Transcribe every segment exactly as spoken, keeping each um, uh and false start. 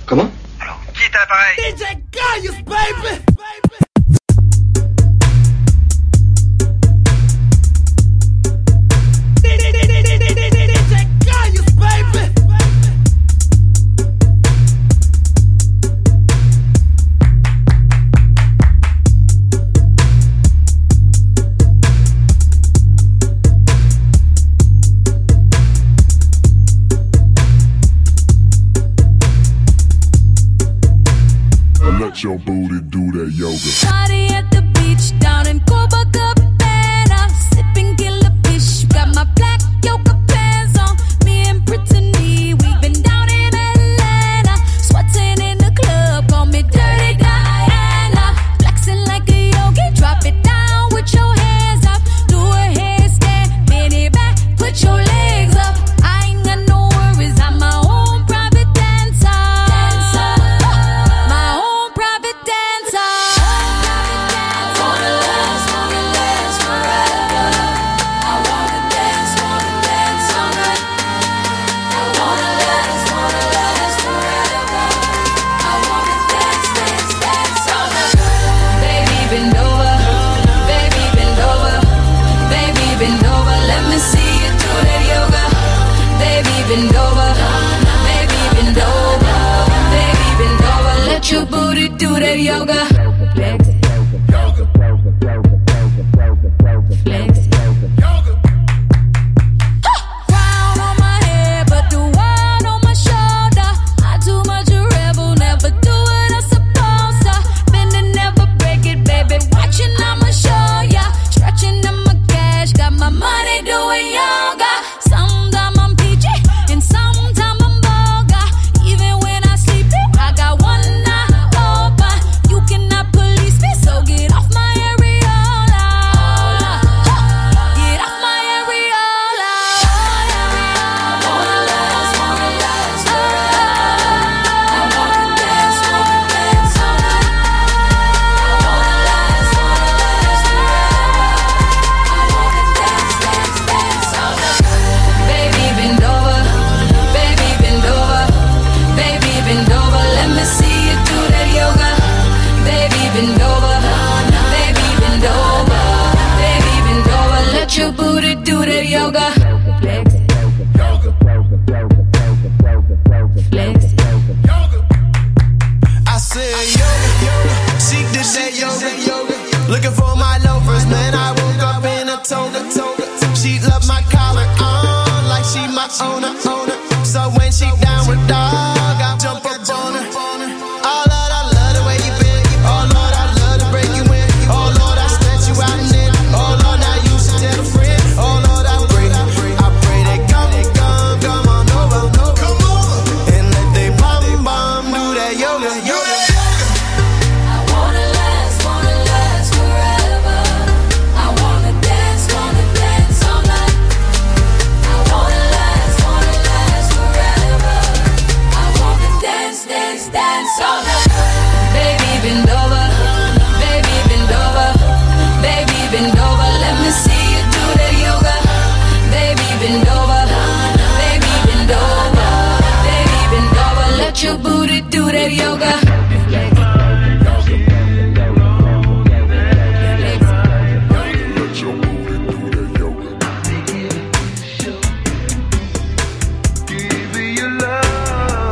Comment? Alors, qui est à l'appareil? D J Gaius, baby! Let your booty do that yoga. Party at the beach down in Copacabana, sipping killer fish. Got my black yoga pants on. Me and Brittany, we've been down in Atlanta, sweating in the club. Call me Dirty Diana, flexing like a yogi. Drop it down with your hands up. Do a handstand, bend it back, put your legs up. I ain't got no worries, I'm my own private dancer. dancer. My own private dancer. Wanna last, wanna last forever. I wanna dance, wanna dance all night. I wanna last, wanna last forever. I wanna dance, dance, dance all night. Baby, bend over, baby, bend over, baby, bend over. Let me see you do that yoga. Baby, bend over, baby, bend over, baby, bend over. Let your booty do that yoga. Flex, flex. Crown on my head, but the one on my shoulder. I too much a rebel, never do what I'm supposed to. Bend and never break it, baby. Watching, I'ma show ya. Stretching on my cash, got my money doing yoga. Sometimes I'm peachy, and sometimes I'm vulgar. Even when I sleep, I got one eye open. You cannot police me, so get off my areola. Get off my areola. I wanna last, wanna last forever. I wanna dance, wanna dance all night. I wanna last, wanna last forever. I wanna dance, dance, dance all night. Baby, bend over, baby, bend over, baby, bend over. Let me see you do that yoga. Baby, bend over, baby, bend over, baby, bend over. Let your booty do that yoga. Flex, flex. I said yoga, she did that yoga, yoga. Looking for my loafers, man. I woke up in a toga, toga. She love my collar on like she my owner, owner. So when she down with dog, I jump up on her. Oh Lord, I love the way you bend. Oh Lord, I love to break you in. Oh Lord, I stretch you out and in. Oh Lord, now you should tell a friend. Oh Lord, I pray, I pray they come, come, come on over, come on, and let they bum bum do that yoga, yoga. I wanna last, wanna last forever. I wanna dance, wanna dance all night. I wanna last, wanna last forever. I wanna dance, dance, dance all night. Baby, bend over, baby, bend over, baby, bend over. Let me see you do that yoga. Baby, bend over, baby, bend over, baby, bend over. Let your booty do that yoga. Let your booty do that yoga. Give me your love.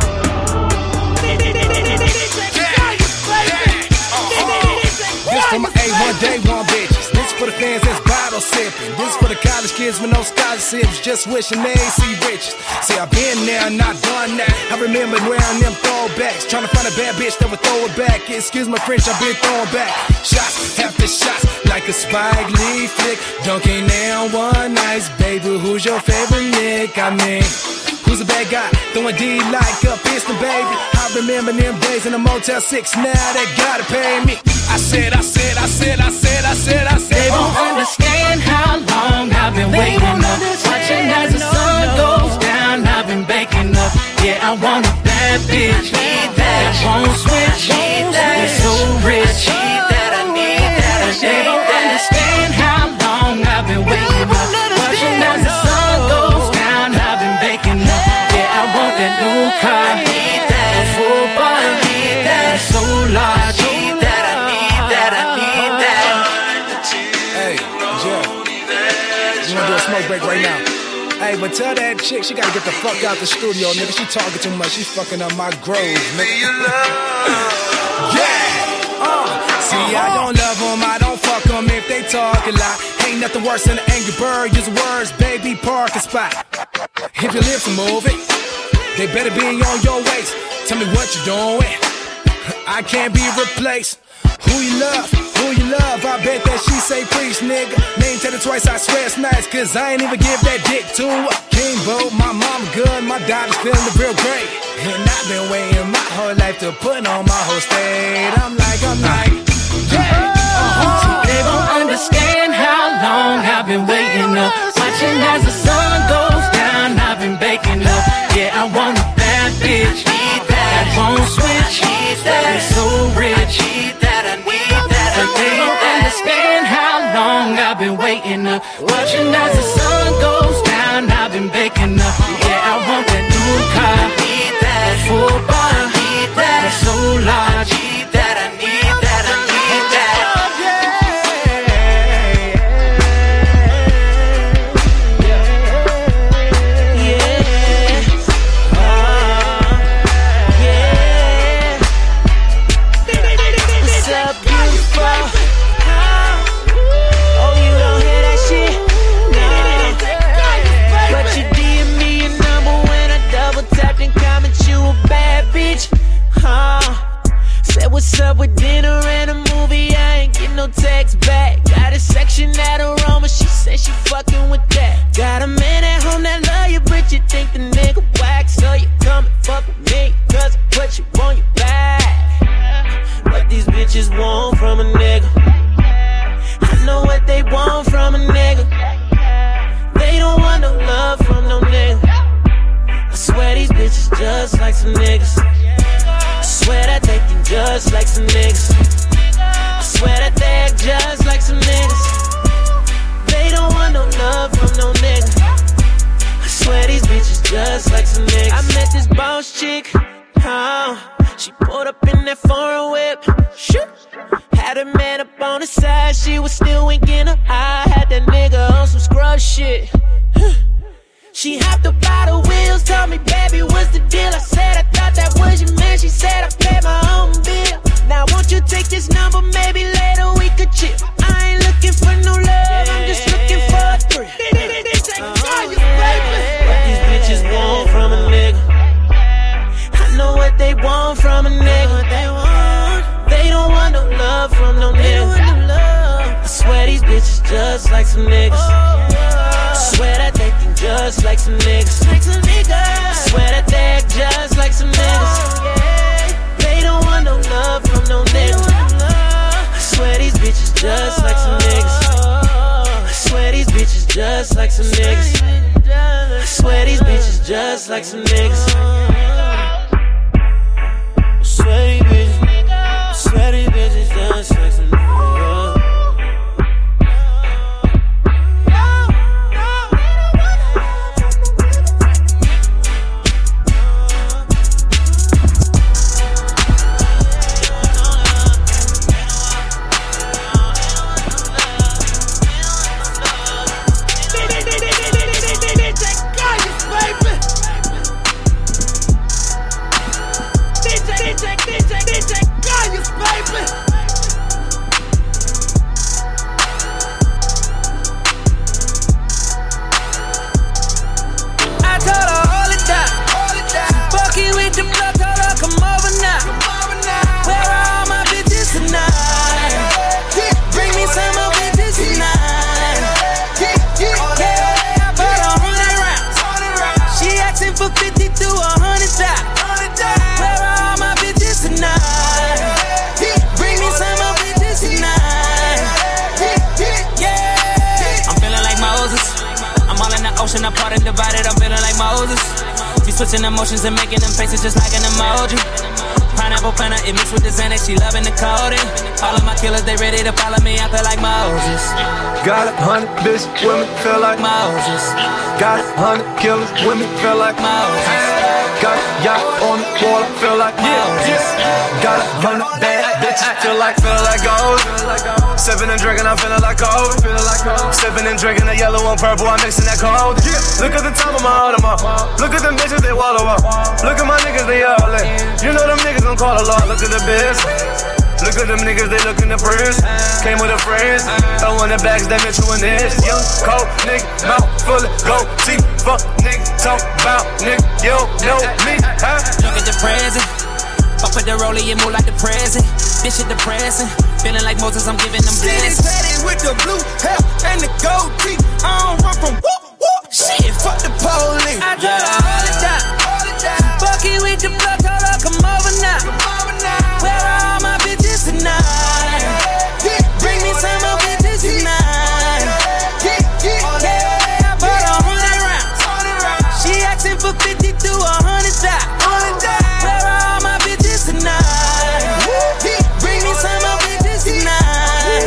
This for my A one day one bitches. This for the fans that's bottle sipping. This for the college kids with no scholarships, just wishing they ain't see riches. See, I've been there, not done that. I remember wearing them throwbacks, trying to find a bad bitch that would throw it back. Excuse my French, I've been throwing back shots after shots like a Spike Lee flick. Dunking down one nice, baby. Who's your favorite Nick? I mean, who's a bad guy? Throwing D like a piston, baby. I remember them days in the Motel six. Now they gotta pay me. I said, I said, I said, I said, I said, I said. They won't understand how long I've been waiting up, watching as the sun goes down. I've been baking up. Yeah, I want a bad bitch that won't switch. That's so rich. They don't understand how long I've been waiting up, watching as the sun goes down. I've been baking up. Yeah, I want that new car, a full bar. smoke break right now. Hey, but tell that chick she gotta get the fuck out the studio, nigga. She talking too much. She fucking up my groove, nigga. Yeah. Uh. See, I don't love them. I don't fuck them if they talk a lot. Ain't nothing worse than an angry bird. Use words, baby, parking spot. If your lips are moving, they better be on your waist. Tell me what you doing. I can't be replaced. Who you love? Who you love? I bet that she say preach, nigga. Name tell it twice, I swear it's nice. Cause I ain't even give that dick to a Kimbo. My mama good, my daughter's feeling real great. And I've been waiting my whole life to put on my whole state. I'm like, I'm like, yeah. Uh-huh. They don't understand how long I've been waiting up. Watching as the sun goes down, I've been baking up. Yeah, I want a bad bitch that won't switch. That is so rich. But they don't understand how long I've been waiting up. Watching as the sun goes down, I've been baking up. Yeah, I want that new car, that full bar, that's so large. That I need, that I need, that. What's up with dinner and a movie? I ain't get no text back. Got a section at Aroma, she said she fucking with that. Got a man at home that love you, but you think the nigga whack. So you come and fuck with me, cause I put you on your back. What these bitches want from a nigga, I know what they want from a nigga. They don't want no love from no nigga. I swear these bitches just like some niggas. I swear that they think just like some niggas. I swear that they act just like some niggas. They don't want no love from no nigga. I swear these bitches just like some niggas. I met this boss chick, oh, she pulled up in that foreign whip. Shoot. Had her man up on the side, she was still winking her eye. Had that nigga on some scrub shit. She hopped up by the wheels, told me, baby, what's the deal? I said, I thought that was your man. She said, I paid my own bill. Now, won't you take this number? Maybe later we could chill. I ain't looking for no love, I'm just looking for a thrill. What these bitches want from a nigga, I know what they want from a nigga. They don't want no love from no nigga. I swear these bitches just like some niggas. I swear that they think just like some niggas. I swear that they act just like some niggas. They don't want no love from no niggas. I swear these bitches just like some niggas. I swear these bitches just like some niggas. I swear these bitches just like some niggas. I swear these bitches, I swear these bitches just like some niggas. I'm part and divided, I'm feeling like Moses. She switching emotions and making them faces just like an emoji. Pineapple planner, it mixed with the Xanax, she loving the coding. All of my killers, they ready to follow me, I feel like Moses. Got a hundred bitch women, feel like Moses. Got a hundred killers, women, feel like Moses. Got yacht on the wall, I feel like yeah, yeah. Got a hundred bad bitches, feel like, feel like gold. Sipping and drinking, I'm feeling like gold. Sipping and drinking, the yellow and purple, I'm mixing that cold. Look at the top of my Audemars. Look at them bitches, they wallow up. Look at my niggas, they all in. You know them niggas gon' call a lot. Look at the biz. Look at them niggas, they lookin' the prince. Came with a friends, throwin' the bags, that Mitchell and this. Young, cold, nigga, mouth full of gold teeth. Fuck, nigga, talk about, nigga, you don't know me, huh? Look at the present. Fuck with the rollie, you move like the present. This shit depressing. Feeling like Moses, I'm giving them blessings. Steady with the blue hair and the gold teeth. I don't run from whoop, whoop. Shit, fuck the police. I try to hold it down. Fuck it with the blood, told her come over now. Where are all my bitches tonight? Bring me some more bitches tonight. Yeah, I bought a hundred rounds. She asking for fifty to a hundred thousand. Where are all my bitches tonight? Bring me some more bitches tonight.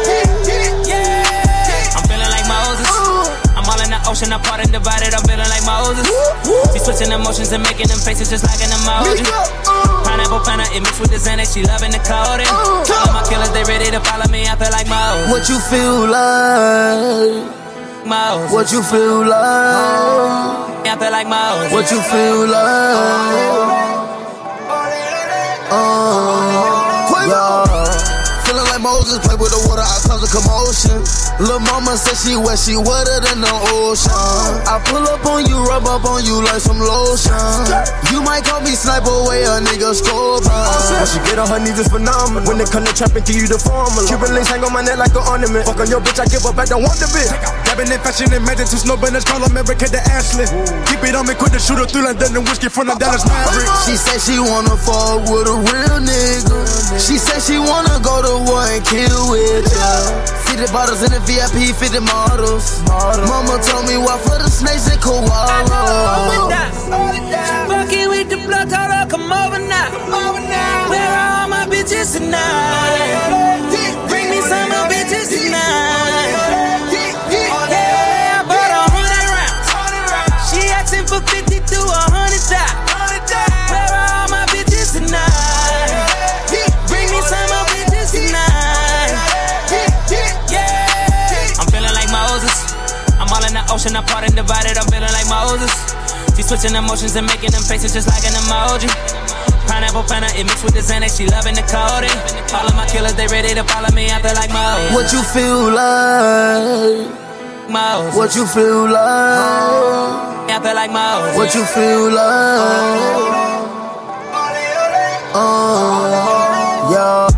Yeah, I'm feeling like Moses. I'm all in the ocean, apart and divided. I'm feeling like Moses. She switching emotions and making them faces just like an emoji. Pineapple Fanta, it mixed with the Xanax, she loving the coding. All of my killers, they ready to follow me, I feel like Moses. What you feel like? Moses. What you feel like? I feel like Moses. What you feel like? Uh, yeah. Feeling like Moses, play with the water, I cause a commotion. Lil' mama said she wet, she wetter than the ocean. I pull up on you, rub up on you like some lotion. You might call me sniper, way a nigga scorpion. When she get on her knees, it's phenomenal. When they come to trap and give you the formula. Cuban links hang on my neck like an ornament. Fuck on your bitch, I give her back, don't want the bitch. Dabbing in fashion and magic, two snow banners, call America to Ashley. Keep it on me, quit the shooter through London and whiskey from the Dallas Mavericks. She said she wanna fall with a real nigga. She said she wanna go to war and kill with ya. fifty bottles in the V I P, fifty models. Mama told me walk for the snakes and koalas. Fuck it with the blood, told her come over now. Where are all my bitches tonight? Bring me some more bitches tonight. Yeah, I bought a hundred rounds. She asking for fifty to a hundred thousand. Where are all my bitches tonight? Bring me some more bitches tonight. Yeah, I'm feeling like Moses. I'm all in the ocean, apart and divided. I'm feeling like Moses. She switching emotions and making them faces just like an emoji. Pineapple Fanta, it mixed with the Xanax, she loving the coding. All of my killers, they ready to follow me, I feel like Moses. What you feel like? Moses. What you feel like? I feel like Moses. What you feel like? Uh, yeah.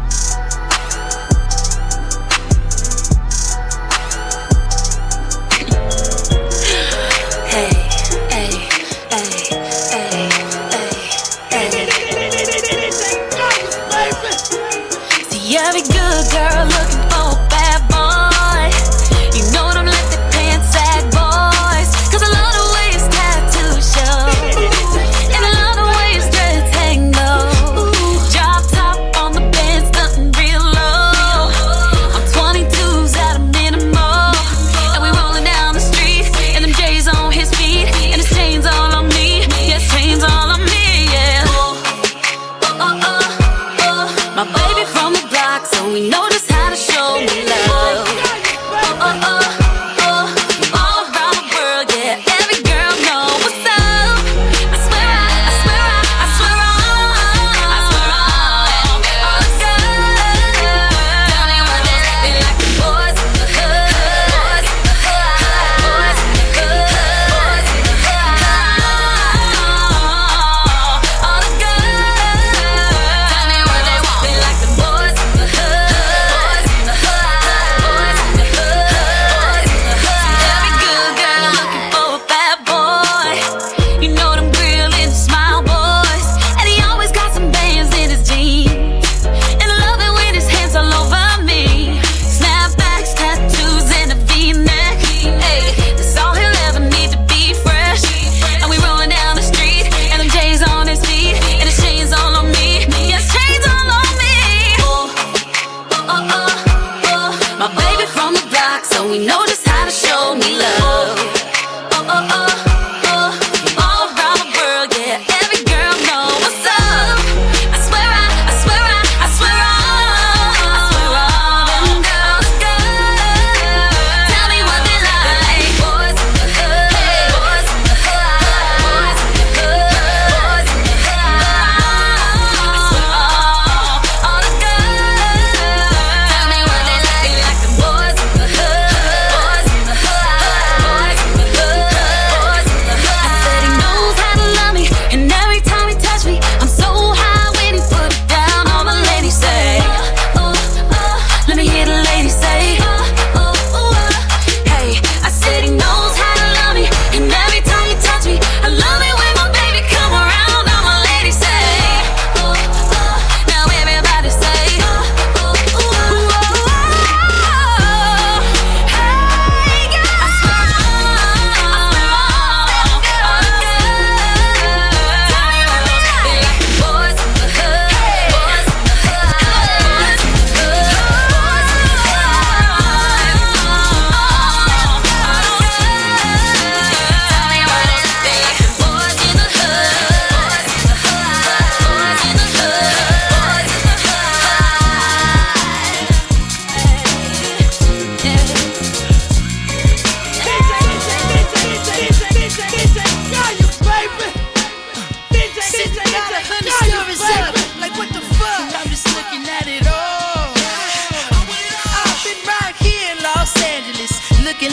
Every good girl looking for a bad boy. You know them let the pants sag boys. Cause I love the way his tattoos show. And I love the way his dreads hang low. Drop top on the Benz, nothing real low. I'm twenty-twos at a minimal. And we rolling down the street. And them J's on his feet. And his chains all on me. Yes, chains all on me, yeah. Oh, oh, oh, oh. My baby from the block, so we know just how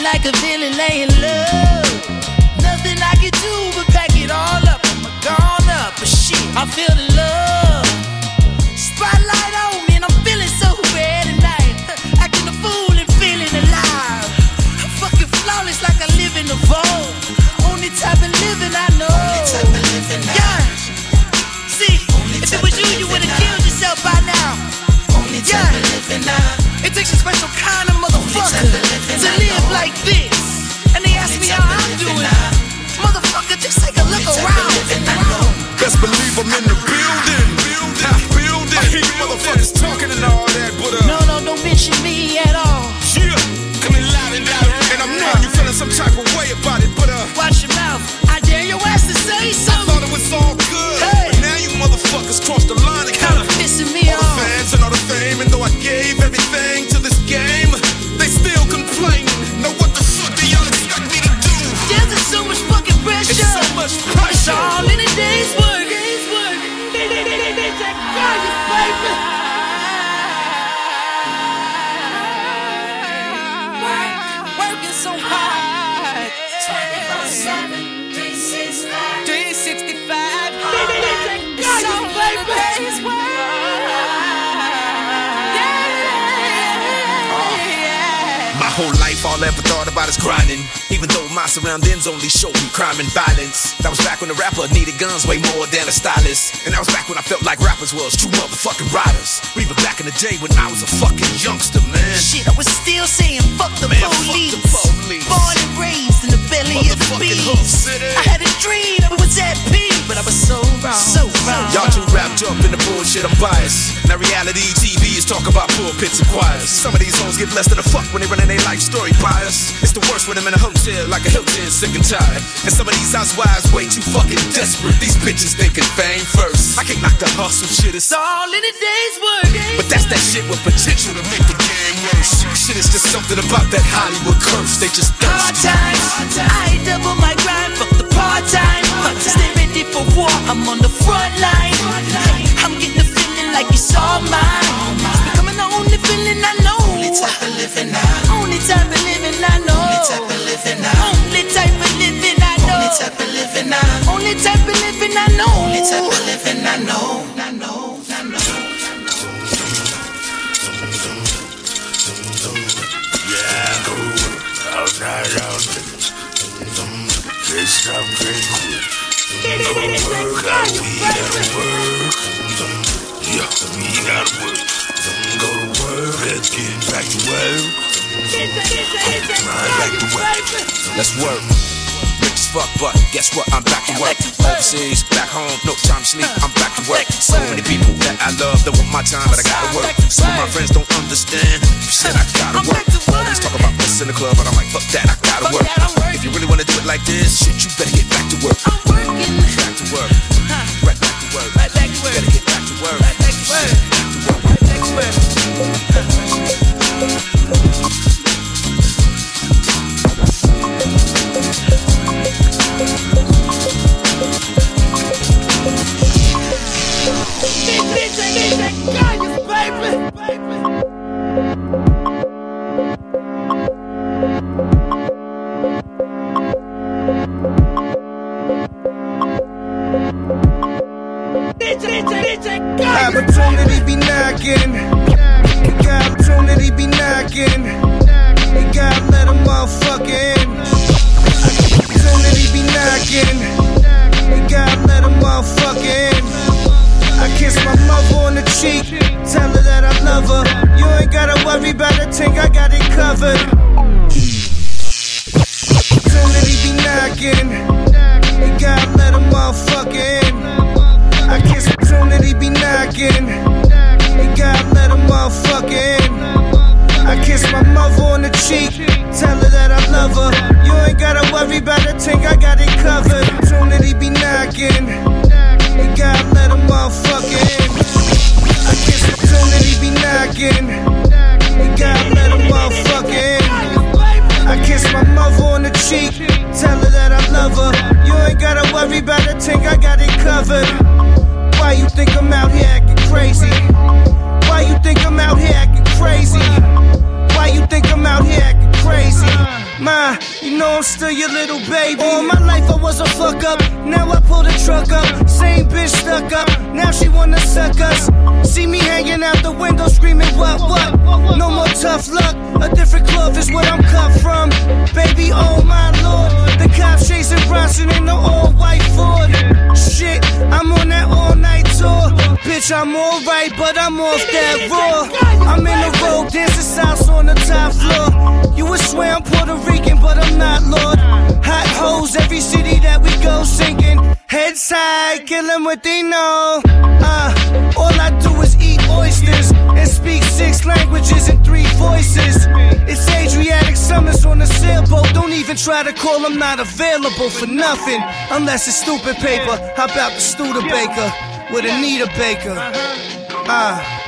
like a villain laying low. Nothing I can do but pack it all up. I'm gone up, but shit, I feel the love. Spotlight on me and I'm feeling so bad tonight. Acting a fool and feeling alive. I'm fucking flawless like I live in a vault. Only type of living I know. Only type of living I know. Yeah. See, only if it was you, you would've killed yourself by now. Only type yeah. of living I know. It takes a special kind of motherfucker to live like this. And they ask me how I'm doing. Motherfucker, just take a look around. Best believe I'm in the building. Building, building. I hear you motherfuckers talking and all that, but uh. No, no, don't mention me at all. Yeah, coming loud and loud. And I'm knowing you feeling some type of way about it, but uh. Watch your mouth. I dare your ass to say something. I thought it was all good. Hey. But now you motherfuckers crossed the line and kinda pissing me all off. All the fans and all the fame, and though I gave everything to this game, they still complaining. Know what the fuck do y'all expect me to do? There's just so much fucking pressure. It's so much pressure. It's all in a day's work. Day's work. They, they, they, they, they take Kanye, baby. Work, working so hard. twenty-four seven, three sixty-five. three sixty-five. They, they, they take Kanye, baby. Day's work. Whole life, all I ever thought about is grinding. Even though my surroundings only show me crime and violence. That was back when the rapper needed guns way more than a stylist. And that was back when I felt like rappers was true motherfucking riders. Or even back in the day when I was a fucking youngster, man. Shit, I was still saying fuck the, man, police. Fuck the police. Born and raised in the belly of the beast. I had a dream that we was at peace, but I was so wrong, so wrong. Y'all too wrapped up in the bullshit, I'm biased. Now reality T V is talk about pulpits and choirs. Some of these hoes give less than a fuck when they running their life story bias. It's the worst when I'm in a hotel like a Hilton, sick and tired. And some of these housewives way too fucking desperate. These bitches thinking fame first. I can't knock the hustle shit, it's all in a day's work. But that's that shit with potential to make the game worse. Shit is just something about that Hollywood curse. They just hard times. I double my grind, fuck the part time. Stay ready for war, I'm on the front line. I'm getting the feeling like it's all mine. It's becoming the only feeling I know. Only type of living I know. Only type of living I know. Only type of living I know. Only type of living I know. Only type of living I know. Only type of living I know. Only type of living I know. I know. I know. Yeah, go all night out. Let's stop getting quick. Go work out, we gotta work. Yeah, we gotta work. Go to work, let's get back to work. Right back to work. Let's work. Rich as fuck, but guess what? I'm back to work. Overseas, back home, no time to sleep. I'm back to work. So many people that I love that want my time, but I gotta work. Some of my friends don't understand. Shit, I gotta work. Always talk about this in the club, but I'm like, fuck that, I gotta work. If you really wanna do it like this, shit, you better get back to work. I'm working. Back to work. Right back to work. Right back to work. Better get back to work. Right back to work. Back to work. Right back to work. Opportunity be knocking. You got opportunity be knocking. You gotta let a motherfucker in. Opportunity be knocking. You gotta let a motherfucker in. I kiss my mother on the cheek, tell her that I love her. You ain't gotta worry about a thing, I got it covered. Opportunity be knocking. You gotta let a motherfucker in. I kiss opportunity be knocking. You gotta let a motherfucker in. I kiss my mother on the cheek, tell her that I love her. You ain't gotta worry about a thing, I got it covered. Opportunity be knocking. You gotta let a motherfucker in. I kiss opportunity be knocking. You gotta let a motherfucker in. I kiss my mother on the cheek, tell her that I love her. You ain't gotta worry about a thing, I got it covered. Why you think I'm out here acting crazy? Why you think I'm out here acting crazy? Why you think I'm out here acting crazy? Ma, you know I'm still your little baby. All my life I was a fuck up, now I pull the truck up. Same bitch stuck up, now she wanna suck us. See me hanging out the window screaming what, what? No more tough luck, a different cloth is what I'm cut from. Baby, oh my lord, the cops chasing Bronson in the all-white Ford. Shit, I'm on that all-night tour. Bitch, I'm alright, but I'm off that raw. I'm in the road, dancing salsa on the top floor. You would swear I'm Puerto Rican, but I'm not, Lord. Hot hoes, every city that we go sinking. Heads high, kill them what they know. Uh, all I do is eat oysters and speak six languages and three voices. It's Adriatic summers on a sailboat. Don't even try to call, I'm not available for nothing. Unless it's stupid paper. How about the Studebaker with Anita Baker? Ah. Uh.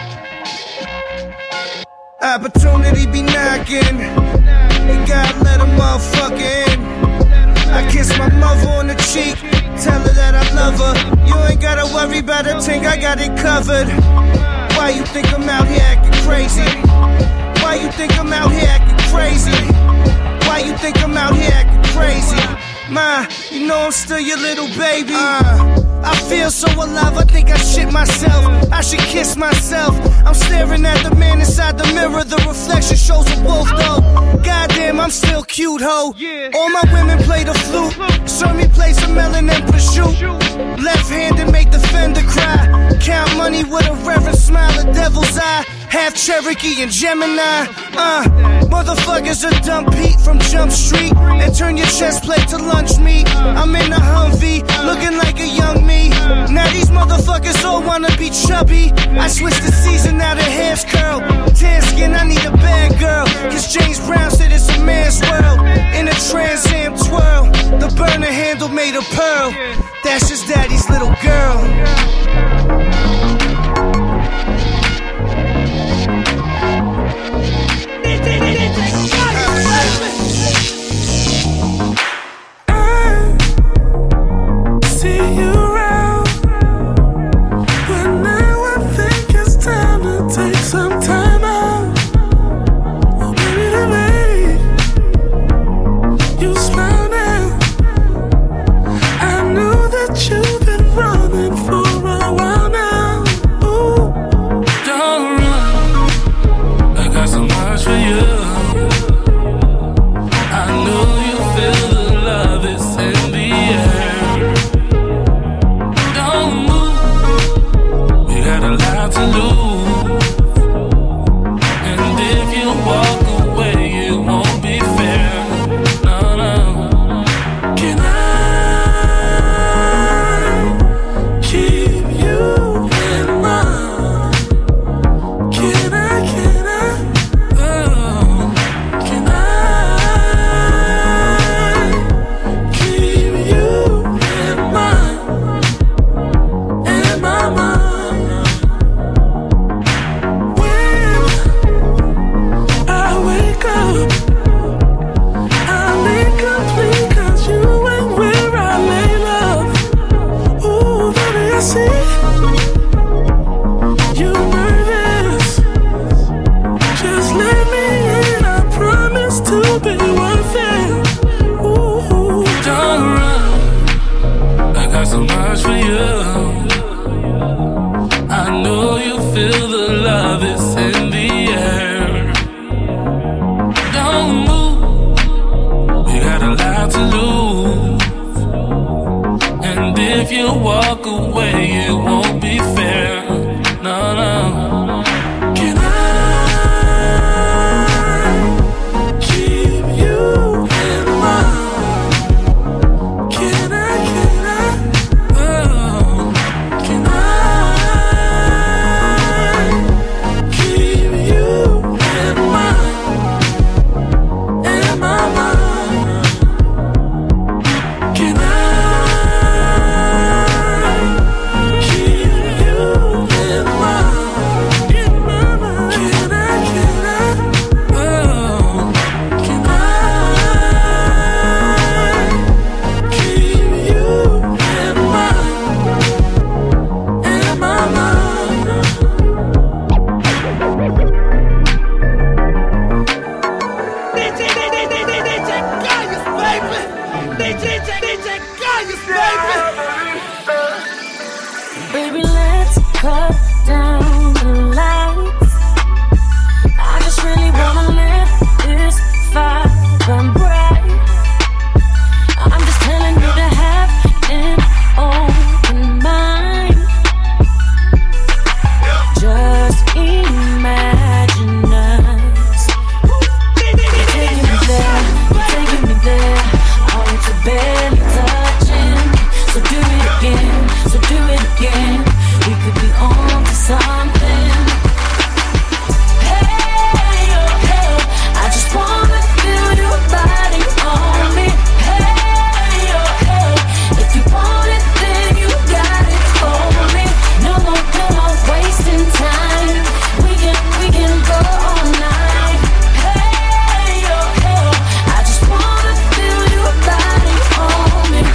Opportunity be knocking, you gotta let a motherfucker in. I kiss my mother on the cheek, tell her that I love her. You ain't gotta worry about a thing, I got it covered. Why you think I'm out here acting crazy? Why you think I'm out here acting crazy? Why you think I'm out here acting crazy? Ma, you know I'm still your little baby. Uh, I feel so alive, I think I shit myself. I should kiss myself. I'm staring at the man inside the mirror. The reflection shows a wolf though. Goddamn, I'm still cute, ho. All my women play the flute. Saw me play some melon and prosciutto. Left-handed make the fender cry. Count money with a reverent smile, a devil's eye. Half Cherokee and Gemini. Uh, motherfuckers are dump Pete from Jump Street and turn your chest plate to lunch meat. I'm in a Humvee, looking like a young me. Now these motherfuckers all wanna be chubby. I switched the season, now the hair's curl. Tan skin, I need a bad girl. Cause James Brown said it's a man's world. In a Trans Am twirl, the burner handle made of pearl. That's just daddy's little girl. Baby, let's cut down the lights. I just really wanna live this fire burn bright. I'm just telling you to have an open mind. Just imagine us. You're taking me there, you're taking me there. I want to barely touching. So do it again, so do it again. We could be on to something. Hey, oh, hey, I just wanna feel your body on me. Hey, oh, hey, if you want it, then you got it. Hold me. No more, no more wasting time. We can, we can go all night. Hey, oh, hey, I just wanna feel your body on me.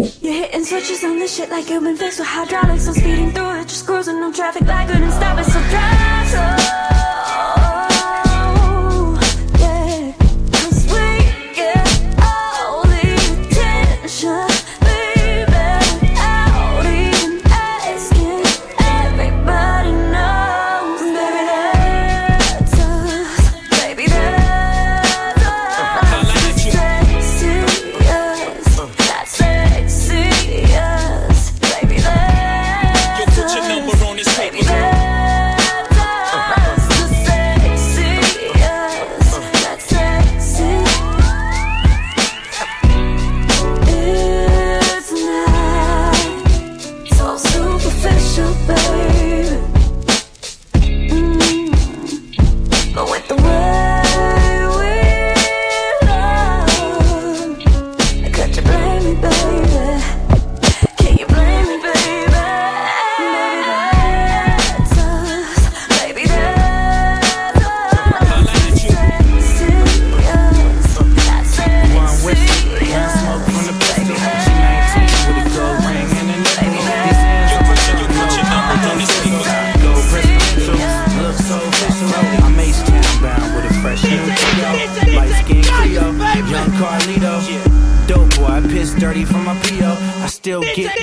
Switches on this shit like you've been fixed with hydraulics. I'm speeding through it, just cruising, no traffic light, couldn't stop it, so drive.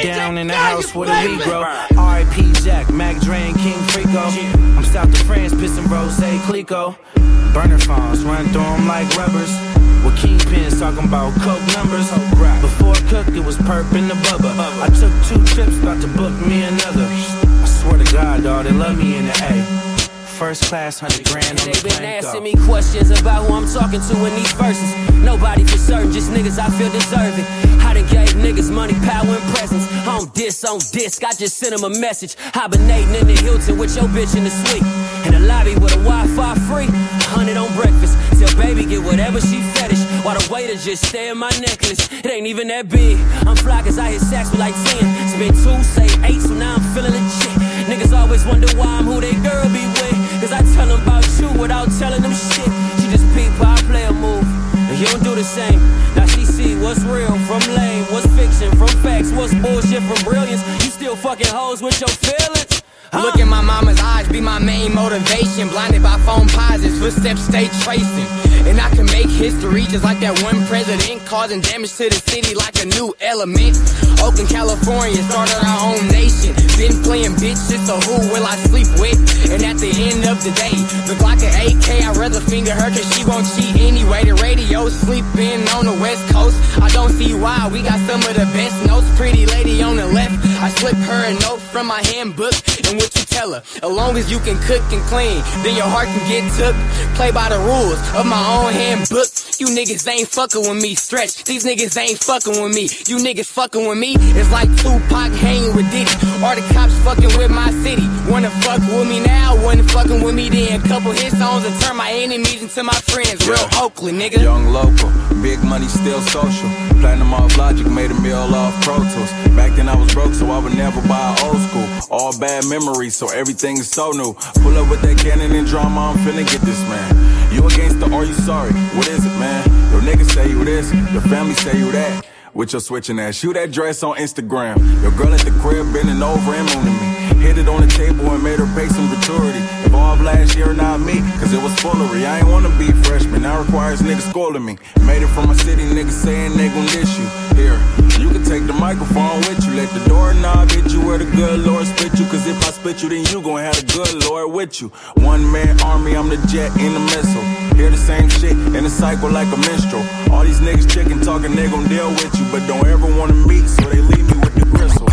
down in the house with a Negro. R I P Jack, Mac Dre, and King Frico. I'm south of France, pissing Rose, Clico. Burner phones, run through them like rubbers. With kingpins talking about coke numbers. Before Cook, it was Perp in the Bubba. I took two trips, about to book me another. I swear to God, dawg, they love me in the A. First class, hundred grand on the They been plane, asking go. me questions about who I'm talking to in these verses. Nobody for certain, just niggas I feel deserving. I done gave niggas money, power, and presents. On diss, on disc, I just sent them a message. Hibernating in the Hilton with your bitch in the suite. In the lobby with a Wi-Fi free, hundred on breakfast. Tell baby get whatever she fetish. While the waiter just stare at my necklace. It ain't even that big. I'm fly cause I hit sacks with like ten. Spent two, say eight, so now I'm feeling legit. Niggas always wonder why I'm who they girl be with. Cause I tell them about you without telling them shit. She just peep how I play a move, and you don't do the same. Now she see what's real from lame, what's fiction from facts, what's bullshit from brilliance. You still fucking hoes with your feelings. Huh? Look in my mama's eyes, be my main motivation. Blinded by phone posits, footsteps stay tracing. And I can make history just like that one president, causing damage to the city like a new element. Oakland, California, started our own nation. Been playing bitch, so who will I sleep with? And at the end of the day, look like an A K, I'd rather finger her cause she won't cheat anyway. The radio sleeping on the west coast, I don't see why, we got some of the best notes. Pretty lady on the left, I slip her a note from my handbook. And what you tell her, as long as you can cook and clean, then your heart can get took. Play by the rules of my own handbook. You niggas ain't fucking with me, stretch. These niggas ain't fucking with me. You niggas fucking with me, it's like Tupac hanging with Diddy. Or the cops fucking with my city. Wanna fuck with me now, wasn't fucking with me then. Couple hit songs and turn my enemies into my friends. Real Yeah. Oakland, nigga. Young local, big money still social. Platinum off Logic, made a meal off Pro Tools. Back then I was broke, so I would never buy old school. All bad memories, so everything is so new. Pull up with that cannon and drama, I'm finna get this, man. You against the or you sorry? What is it, man? Your niggas say you this, your family say you that. With your switching ass, shoot that dress on Instagram. Your girl at the crib bending over and mooning me. Hit it on the table and made her pay some gratuity. Evolved last year, not me, cause it was foolery. I ain't wanna be freshman, now requires niggas schooling me. Made it from my city, niggas saying they gon' dish you. Here, you can take the microphone with you. Let the doorknob hit you where the good Lord spit you. Cause if I spit you, then you gon' have the good Lord with you. One man army, I'm the jet in the missile. Hear the same shit in a cycle like a minstrel. All these niggas chicken talking, they gon' deal with you. But don't ever wanna meet, so they leave me with the gristle.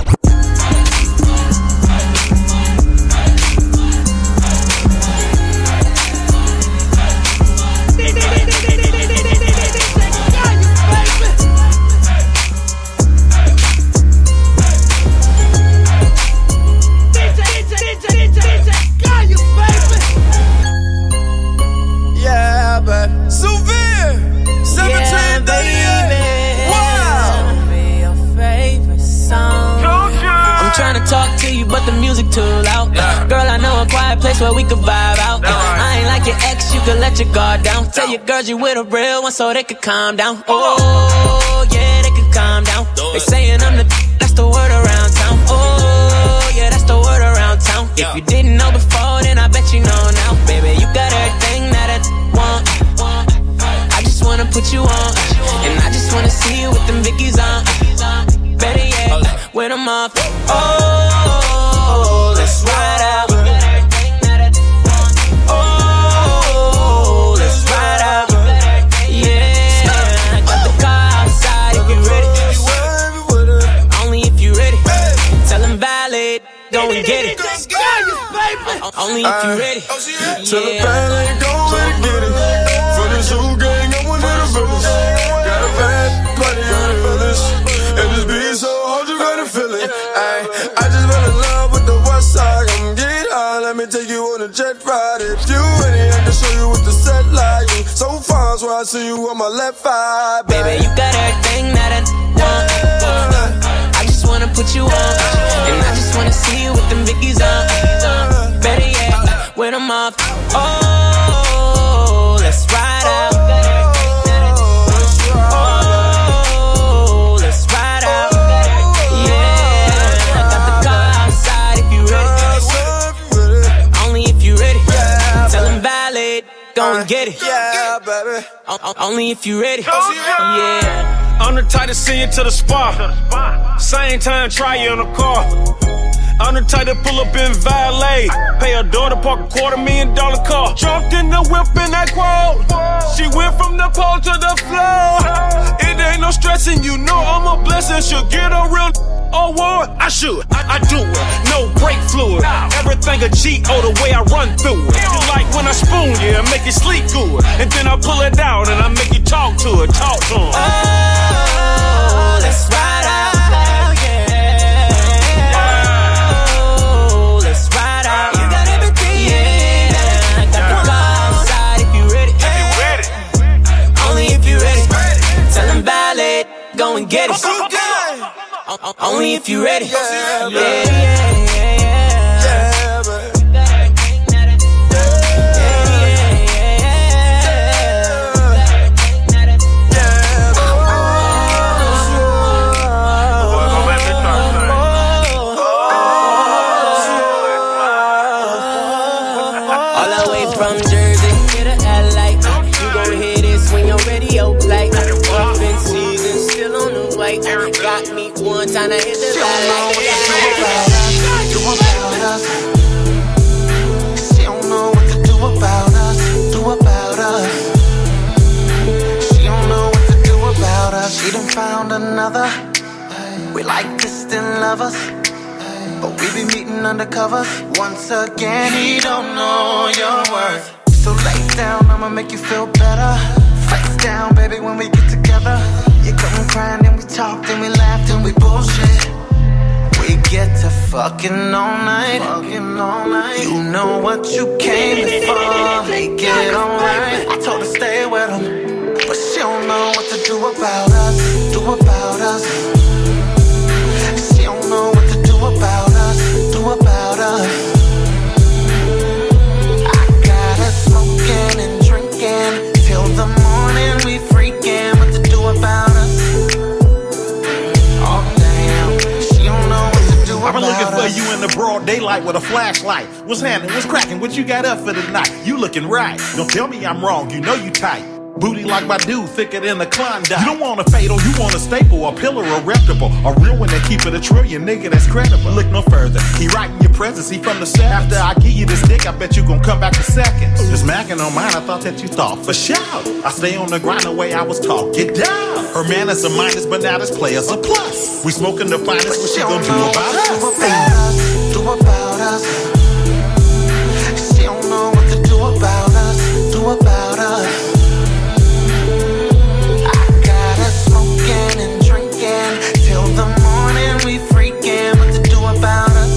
Yeah, but Souvenir, seventeen thirty-eight. Wow. I'm trying to talk to you, but the music too loud. Yeah. Girl, I know a quiet place where we could vibe out. Yeah. I ain't like your ex, you could let your guard down. Tell your girls you with a real one so they could calm down. Oh, yeah, they could calm down. They saying I'm the that's the word around town. Oh, yeah, that's the word around town. Yeah. If you didn't know before, then I bet you know now. Baby, you got everything that I want. I just wanna put you on, and I just wanna see you with them Vickies on. Better yet, with them off. Oh, let's ride out. Oh, let's ride out. Yeah, I got the car outside if you ready. Only if you ready. Tell them valid, go and get it. Only if you ready. Tell the band ain't go and get it. For the zoo gang, I'm one of the villains. Got a bad buddy on the village. And this beat so hard you gotta feel it. Ay, I just fell in love with the west side. Come get high, let me take you on a jet ride. If you ready, I can show you what the set like. You so far, so I see you on my left eye. Baby, you got everything that I want. Yeah. I just wanna put you on, and I just wanna see you with them Vickies on. Better yet, with them off. Oh, let's ride out. Go and get it. Yeah, baby. O- only if you ready. Yeah. I'm the type to send you to the spa. Same time, try you in a car. I'm the type to pull up in valet. Pay her daughter, park a quarter million dollar car. Jumped in the whip in that quote. She went from the pole to the floor. It ain't no stressing, you know I'm a blessing. She'll get a real award. I should, I, I do it. No brake fluid. Everything a G O the way I run through it. You like when I spoon you and make you sleep good. And then I pull it out and I make you talk to it. Talk to him. Oh, let's ride out. Go and get it. Only if you ready. Yeah, yeah, yeah, yeah, yeah. All the way from Jersey to the L A. You gon' hear this when your radio play. Up in season, still on the way. Got me one time to hit the light. Do about us. She don't know what to do about us. Do about us. She don't know what to do about us. She done found another. We like distant lovers, but we be meeting undercover. Once again, he don't know your worth. So lay down, I'ma make you feel better. Face down, baby, when we get together. You come crying and we talked and we laughed and we bullshit. We get to fucking all night, fucking all night. You know what you came here for. Make it alright. I told her stay with him, but she don't know what to do about us. Do about us. She don't know what to do about us. Do about us. I got her smoking and drinking till the morning. We freaking what to do about us. Oh damn, she don't know what to do about us. I've been looking for you in the broad daylight with a flashlight. What's happening? What's cracking? What you got up for tonight? You looking right. Don't tell me I'm wrong. You know you tight. Booty like my dude, thicker than a Klondike. You don't want a fatal, you want a staple, a pillar, a reputable, a real one that keep it a trillion, nigga that's credible. Look no further, he right in your presence, he from the set. After I give you this dick, I bet you gon' come back in seconds. Just macking on mine, I thought that you thought for sure. I stay on the grind the way I was taught, get down. Her man is a minus, but now this player's a plus. We smoking the finest, what she gon' do about us? Do about us, do about us. She don't know what to do about us, do about us. And drinking till the morning, we freaking what to do about us.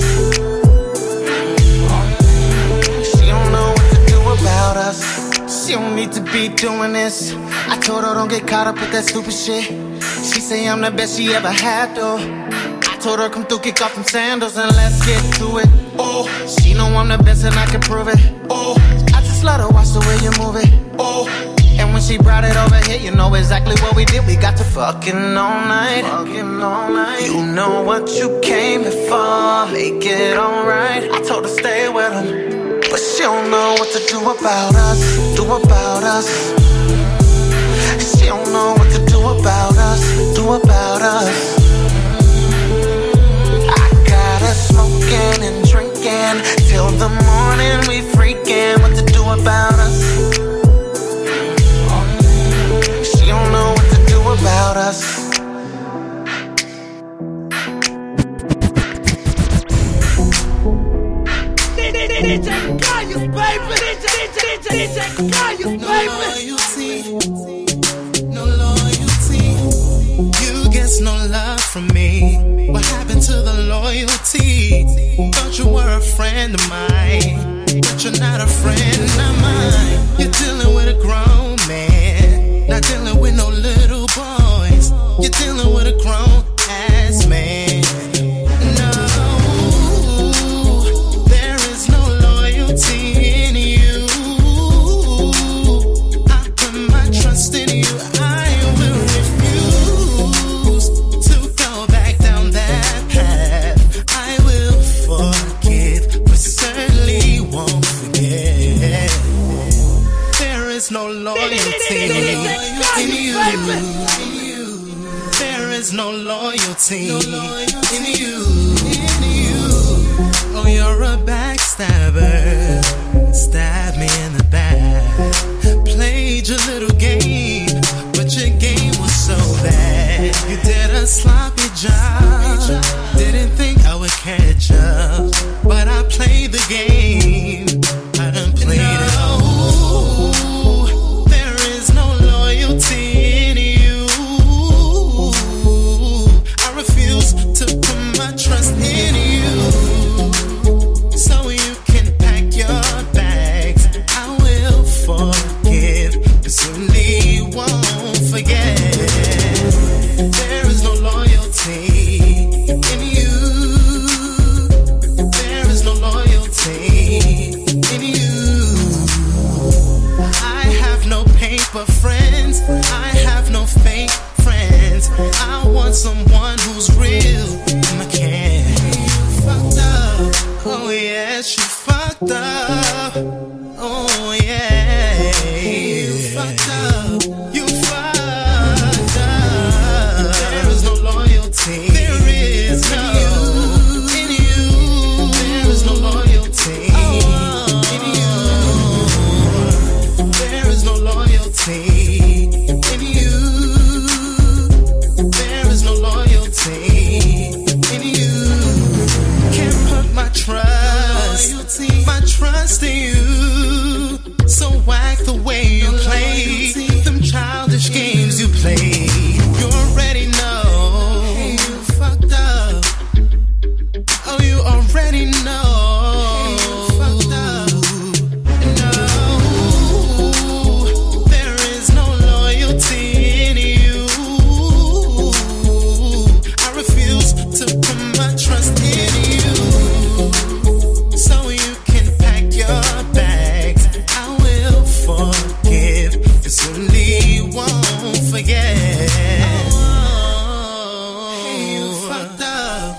She don't know what to do about us. She don't need to be doing this. I told her don't get caught up with that stupid shit. She say I'm the best she ever had though. I told her come through, kick off them sandals and let's get to it. Oh, she know I'm the best and I can prove it. Oh, I just let her watch the way you move it. Oh, and when she brought it over here, you know exactly what we did. We got to fucking all night, fucking all night. You know what you came here for. Make it alright. I told her stay with him, but she don't know what to do about us. Do about us. She don't know what to do about us. Do about us. I got her smoking and drinking till the morning. We freaking what to do about us. She don't know what to do about us. D J Gaius, baby. D J Gaius, baby. No loyalty. You guess no love from me. What happened to the loyalty? Thought you were a friend of mine, but you're not a friend of mine. You're dealing with a grown man, not dealing with no little boys. You're dealing with a grown ass man. No, there is no loyalty in you. I put my trust in you. I will refuse to go back down that path. I will forgive, but certainly won't forget. There is no loyalty in you. is no loyalty, no loyalty in you. In you. Oh, you're a backstabber. Stab me in the back. Played your little game, but your game was so bad. You did a sloppy job. Didn't think I would catch up, but I played the game. I done played it all. There is no loyalty in you. I refuse to put my trust in you. So you can pack your bags. I will forgive, but certainly won't forget. There is no loyalty in you. There is no loyalty in you. I have no paper friends. I have no fake friends. I want someone who's real and I can. You fucked up. Oh yes, you fucked up. Oh yeah, you fucked up. You fucked up. There is no loyalty. There is no in you. There is no loyalty in you. There is no loyalty in you. There is no loyalty in you. Can't put my trust, my trust in you. So whack the way you play them childish games you play. You already know you fucked up. Oh, you already know you fucked up. No, there is no loyalty in you. I refuse to put my trust in you. So you can pack your bags. I will forgive, and certainly won't forget. Hey, you fucked up.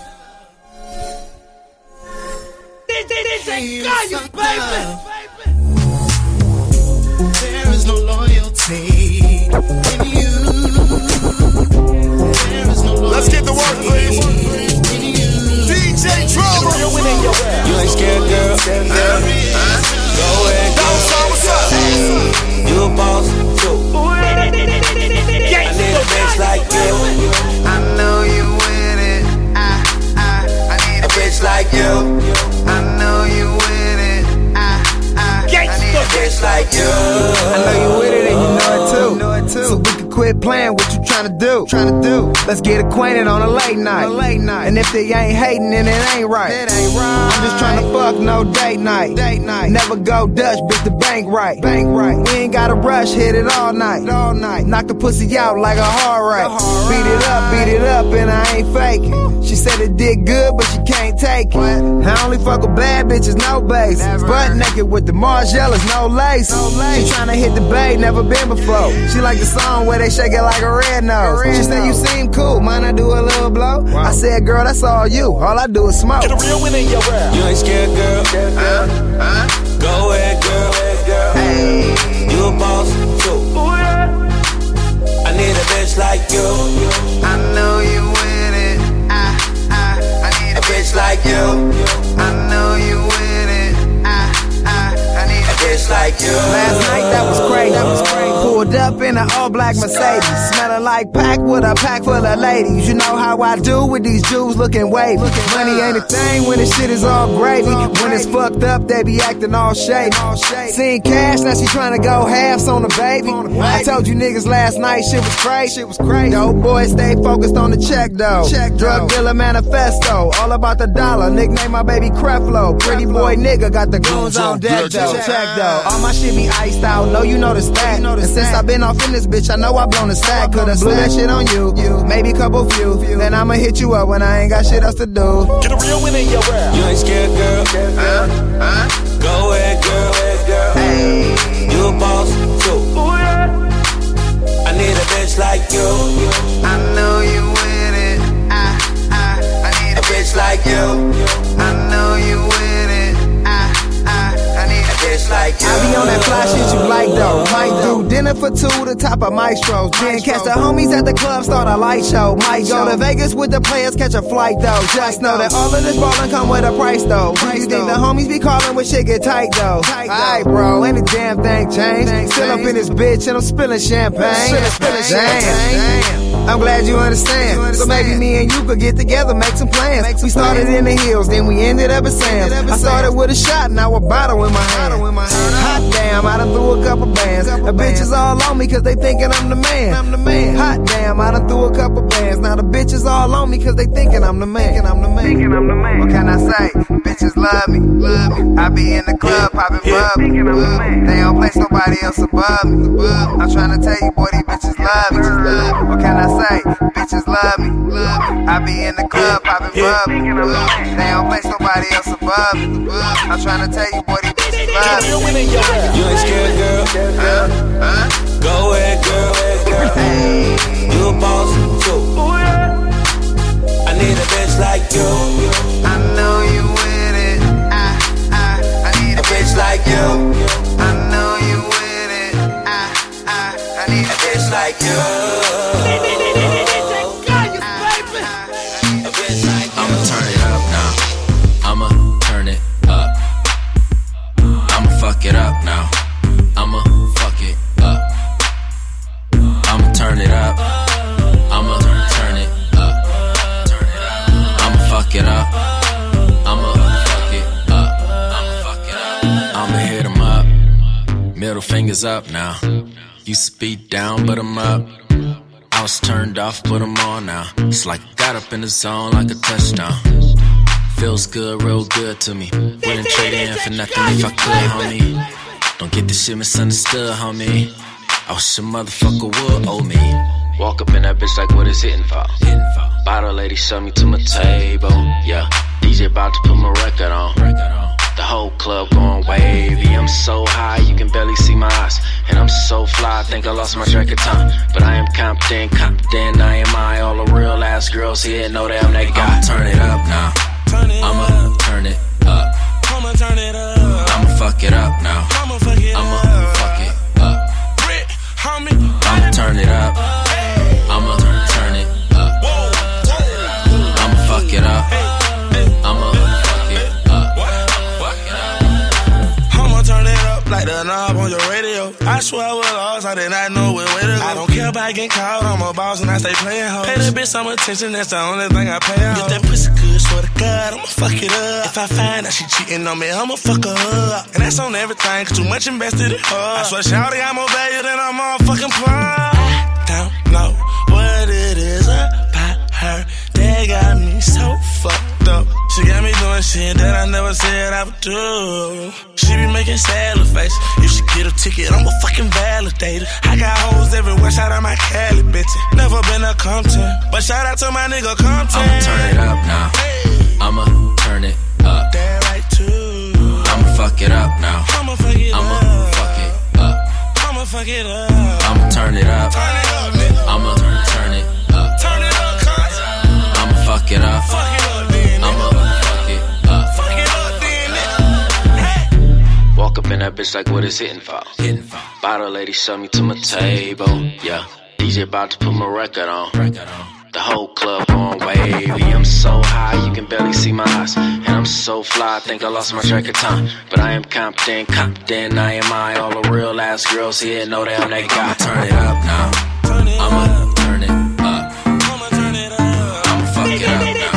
Hey, you fucked up. There is no loyalty in you. There is no loyalty. Let's get to work, please. In you. D J Trouble. You ain't scared, girl. Go ahead, go. What's up? You a boss, too. I need a bitch like you. I know you with it. I, I, I need A bitch like you. I know you with it. I, I, I need A bitch like you. I know you with it and you know it too. Know it too. So we can quit playing what you tryna do. Tryna do. Let's get acquainted on a late night. A late night. And if they ain't hating, then it ain't right. It ain't right. I'm just tryna fuck, no date night. Date night. Never go Dutch, bitch, the bank right. Bank right. We ain't gotta rush, hit it all night. All night. Knock the pussy out like a hard right. Beat it up, beat it up, and I ain't faking. She said it did good, but she can't take it. I only fuck with bad bitches, no base. Butt naked with the Margielas, no lace. She tryna hit the bay, never been before. She like the song where they shake it like a red nose. She said you seem cool, mind I do a little blow? I said, girl, that's all you. All I do is smoke. Get a real win in your world. You ain't scared, girl. Uh, uh, Go ahead, girl. hey. You a boss, too. I need a bitch like you. I know you with it. I, I, I need A bitch like you. I know you with it. I, I, I need A bitch like you. Last night that was crazy. That was crazy. Pulled up in an all black Mercedes, smelling like pack with a pack full of ladies. You know how I do with these Jews looking wavy. Money ain't a thing when the shit is all gravy. When it's fucked up, they be acting all shady. Seen cash, now she tryna go halves on the baby. I told you niggas last night shit was crazy. Shit was crazy. Dope boys stay focused on the check though. Check drug dealer manifesto, all about the dollar. Nickname my baby Creflo. Pretty boy nigga got the goons on deck though. Check though. All my shit be iced out. Know you know the stack. And since I been off in this bitch, I know I blown the stack. Could've blew that shit on you, maybe couple few. Then I'ma hit you up when I ain't got shit else to do. Get a real win in your world. You ain't scared, girl. Uh, uh, Go ahead, girl. hey. You a boss, too. I need a bitch like you. I know you with it. I, I, I need A bitch like you. I know you with it. I, I, I need A bitch like like you. I be on that fly shit you like though. Might do dinner for two, the top of Maestros. Then catch the homies at the club, start a light show. Might go to Vegas with the players, catch a flight though. Just know that all of this ballin' come with a price though. You think the homies be callin' when shit get tight though? Alright, bro, ain't a damn thing changed. Still up in this bitch and I'm spillin' champagne. Damn, I'm glad you understand. So maybe me and you could get together, make some plans. We started in the hills, then we ended up at Sam's. I started with a shot, now a bottle in my hand. Hot damn, I done threw a couple bands. The bitches all on me cause they thinking I'm the man. Hot damn, I done threw a couple bands. Now the bitches all on me cause they thinking I'm the man. What can I say? Bitches love me. I be in the club popping bubble. They don't place nobody else above me. I'm trying to tell you, boy, these bitches love me. What can I say? Bitches love me. I be in the club popping bubble. They don't place nobody else above me. I'm trying to tell you, boy, these bitches love me. You ain't scared, girl. Huh? Huh? Go ahead, girl. Hey. You a boss too. I need a bitch like you. I know you with it. I, I, I need a, a bitch like you. I know you with it. I, I, I need a bitch like you. I'ma turn it up now. I'ma turn it up. I'ma fuck it up now. I'ma fuck it up. I'ma turn it up. I'ma turn it up. I'ma fuck it up. I'ma fuck it up. I'ma fuck it up. I'ma hit 'em up. Middle fingers up now. Used to be down, but I'm up. I was turned off, but I'm on now. It's like I got up in the zone like a touchdown. Feels good, real good to me. Wouldn't trade in for nothing if I could, homie. Don't get this shit misunderstood, homie. I wish a motherfucker would owe me. Walk up in that bitch like what it's hitting for. Bottle lady shove me to my table. Yeah, D J about to put my record on. The whole club going wavy. I'm so high, you can barely see my eyes. And I'm so fly, I think I lost my track of time. But I am confident, confident, I am I. All the real ass girls here know that I'm that guy. I'ma turn it up now. I'ma turn it up. I'ma turn it up. I'ma fuck it up now. I'ma fuck it up. I'ma fuck it up. I'ma turn it up. I'ma turn it up. I'ma fuck it up. I'ma fuck it up. I'ma turn it up like the knob on your radio. I swear I was lost, I did not know where way to go. I don't care about getting caught, I'm a boss and I stay playing hoes. Pay that bitch some attention, that's the only thing I pay out. If that pussy good, swear to God, I'ma fuck it up. If I find out she cheating on me, I'ma fuck her up. And that's on everything, cause too much invested in her. I swear, shawty, I'm more value than I'm all fucking pro. I don't know what it is about her that got me so fucked up. She got me doing shit that I never said I would do. She be making sad little face. If she get a ticket, I'm a fucking validator. I got hoes everywhere, shout out my Cali bitches. Never been a Compton, but shout out to my nigga Compton. I'ma turn it up now. Hey. I'ma turn it up. That right too. I'ma fuck it up now. I'ma fuck it I'ma up. fuck it up. I'ma fuck it up. I'ma turn it up. Turn it up, nigga. I'ma turn it up. Turn it up, cuz. I'ma fuck it up. Fuck it up, then. I'ma fuck it up. Fuck it up, then, nigga. Hey. Walk up in that bitch like what it's hitting for. Hitting for. Bottle lady shove me to my table. Yeah, D J about to put my record on. Record on. The whole club going wavy. I'm so high, you can barely see my eyes. And I'm so fly, I think I lost my track of time. But I am confident, confident, I am I. All the real ass girls here know that I'm that guy. I'ma turn it up now. I'ma turn it up. I'ma fuck it up now.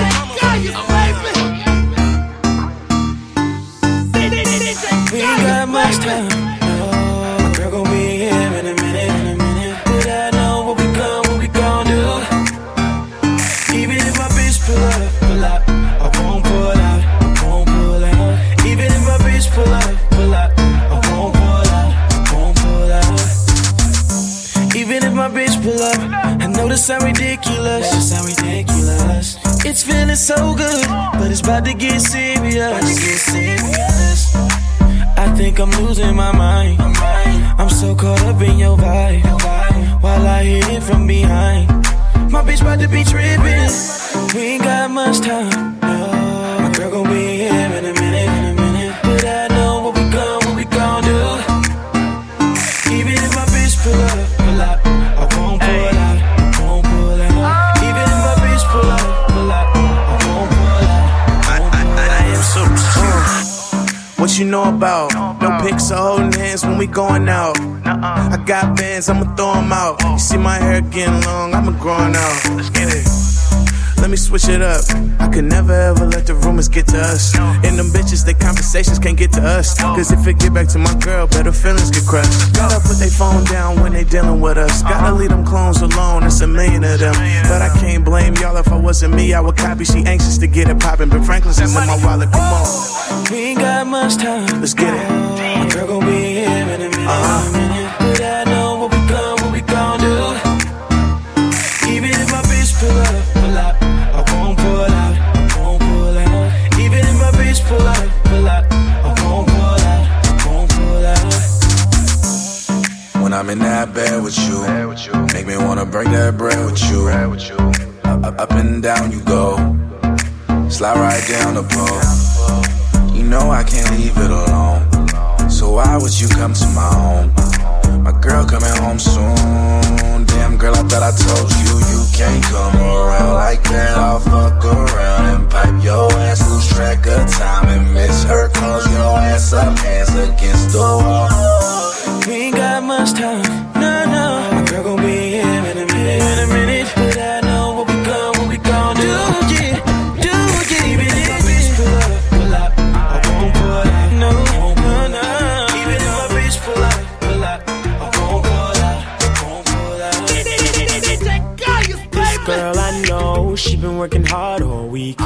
We ain't got much time. No, my girl gon' be here in a minute, in a minute. But I know what we gon', what we gon' do. Even if my bitch pull up, pull up, I won't pull out, I won't pull out. Even if my bitch pull up, pull up, I won't pull out, I won't pull out. Even if my bitch pull up, I know this sound ridiculous, this sound ridiculous. It's feeling so good, but it's about to get serious. About to get serious. I think I'm losing my mind. I'm so caught up in your vibe, while I hit it from behind. My bitch about to be trippin'. We ain't got much time. No. My girl gon' be here in a minute, in a minute. But I know what we gon', what we gon' do. pics of holding hands when we going out. I got bands, I'ma throw them out. You see my hair getting long, I'ma growing out. Let's get it. Let me switch it up. I could never ever let the rumors get to us. And them bitches, their conversations can't get to us. Cause if it get back to my girl, better feelings get crushed. Gotta put their phone down when they dealing with us. Gotta leave them clones alone, it's a million of them. But I can't blame y'all, if I wasn't me, I would copy. She anxious to get it poppin', but Franklin's is in my wallet, come on. We ain't got much time. Let's get it. My girl gon' be here in a minute, uh-huh. in a minute. But I know what we gon', what we gon' do. Even if my bitch pull up, pull up, I won't pull out, I won't pull out. Even if my bitch pull out, pull out, I won't pull out, I won't pull out. When I'm in that bed with you, make me wanna break that bread with you. Up, up and down you go, slide right down the pole. You know I can't leave it alone, so why would you come to my home? My girl coming home soon. Damn girl, I thought I told you you can't come around like that. I'll fuck around and pipe your ass, lose track of time and miss her. Close your ass up, hands against the wall. We ain't got much time, no, no. My girl gon' be here in a minute, in a minute. But I know what we gon', what we gon' do, yeah, do, yeah. Even if my bitch pull up, pull up, I won't pull out, no, no, no. Even if my bitch pull up, pull up, I won't pull out, I won't pull out. This girl I know, she been working hard all week.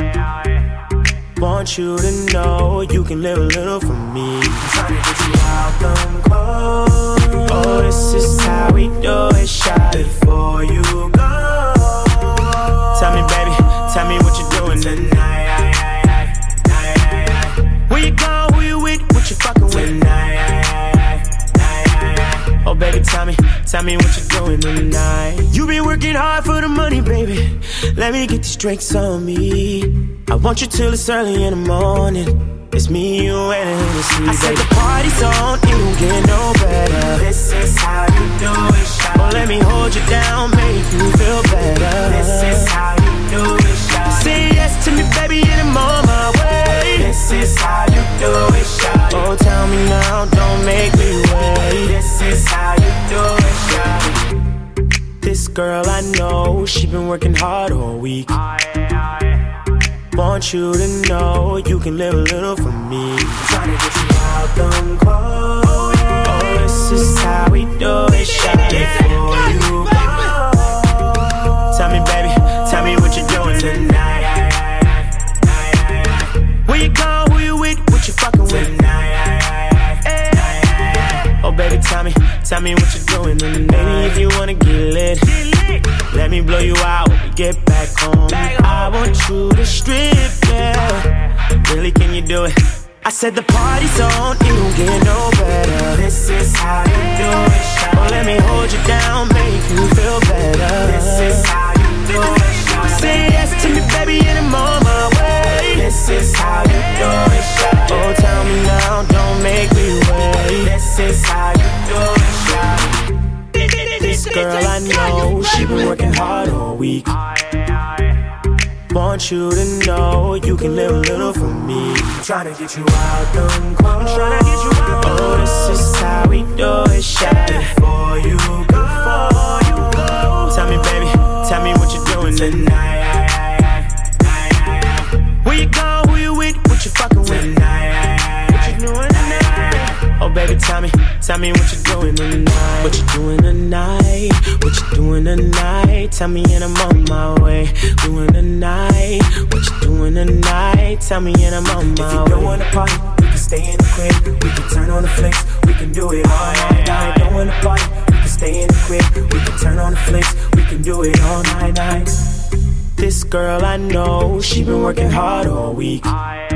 Want you to know you can live a little for me. Trying to get you out them clothes. Oh, this is how we do it, shot before you go. Tell me, baby, tell me what you're doing tonight. Where you go, who you with, what you fucking with tonight? Oh, baby, tell me, tell me what you're doing tonight. You been working hard for the money, baby. Let me get these drinks on me. I want you till it's early in the morning. It's me, you, and Hennessy. I said the party's on, it don't get no better. This is how you do it, shawty. Oh, let me hold you down, make you feel better. This is how you do it, shawty. Say yes to me, baby, and I'm on my way. This is how you do it, shawty. Oh, tell me now, don't make me wait. This is how you do it, shawty. This girl I know, she been working hard all week. Want you to know you can live a little for me. Trying to get you out them clothes. Oh, this is how we do it, shawty. Before you go. Tell me, baby, tell me what you're doing tonight. Where you go, who you with, what you fucking with tonight? Oh, baby, tell me, tell me what you're doing tonight. Baby, if you wanna get lit, let me blow you out when we get back home. I want you to strip, yeah. Really, can you do it? I said the party's on, it don't get no better. This is how you do it, shawty. Oh, let me hold you down, make you feel better. This is how you do it, shawty. Say yes to me, baby, and I'm on my way. This is how you do it, shawty. Oh, tell me now, don't make me wait. This is how you do it, shawty. This girl I know, she been working hard all week. Want you to know you can live a little for me. Tryna get you out them clothes. Tryna get you out. Oh, this is how we do it, shawty. Before you go, before you go. Tell me, baby, tell me what you're doing tonight. Where you go, who you with, what you fucking with tonight? What you doing tonight? Oh, baby, tell me, tell me what you're doing tonight. What you doing tonight? What you doing tonight? Tell me and I'm on my way. Doing tonight. What you doing tonight? Tell me and I'm on my way. If you don't wanna party, we can stay in the crib. We can turn on the flicks. We can do it all night. Night. Don't wanna party, we can stay in the crib. We can turn on the flicks. We can do it all night, night. This girl I know, she been working hard all week.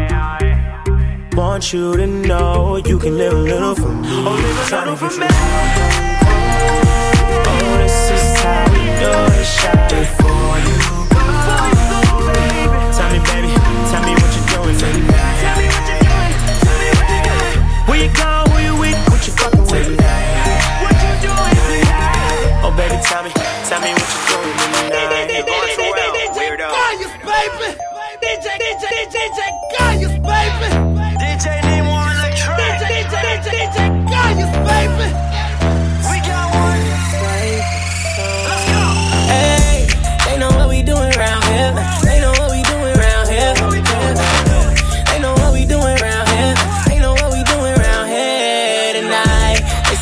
Want you to know you can live a little for me. Oh, live a little for me. Oh, this is how we do it, shawty. Before you go, tell me, baby, tell me what you're doing tonight. Tell me what you're doing. Tell me what you're doing. Where you go, who you with, what you fucking with tonight? What you doing tonight? Oh, baby, tell me, tell me what you're doing tonight. You're going too well, weirdo. Gaius, baby. D J, D J, D J, Gaius, baby. D J, name one electric. D J, D J,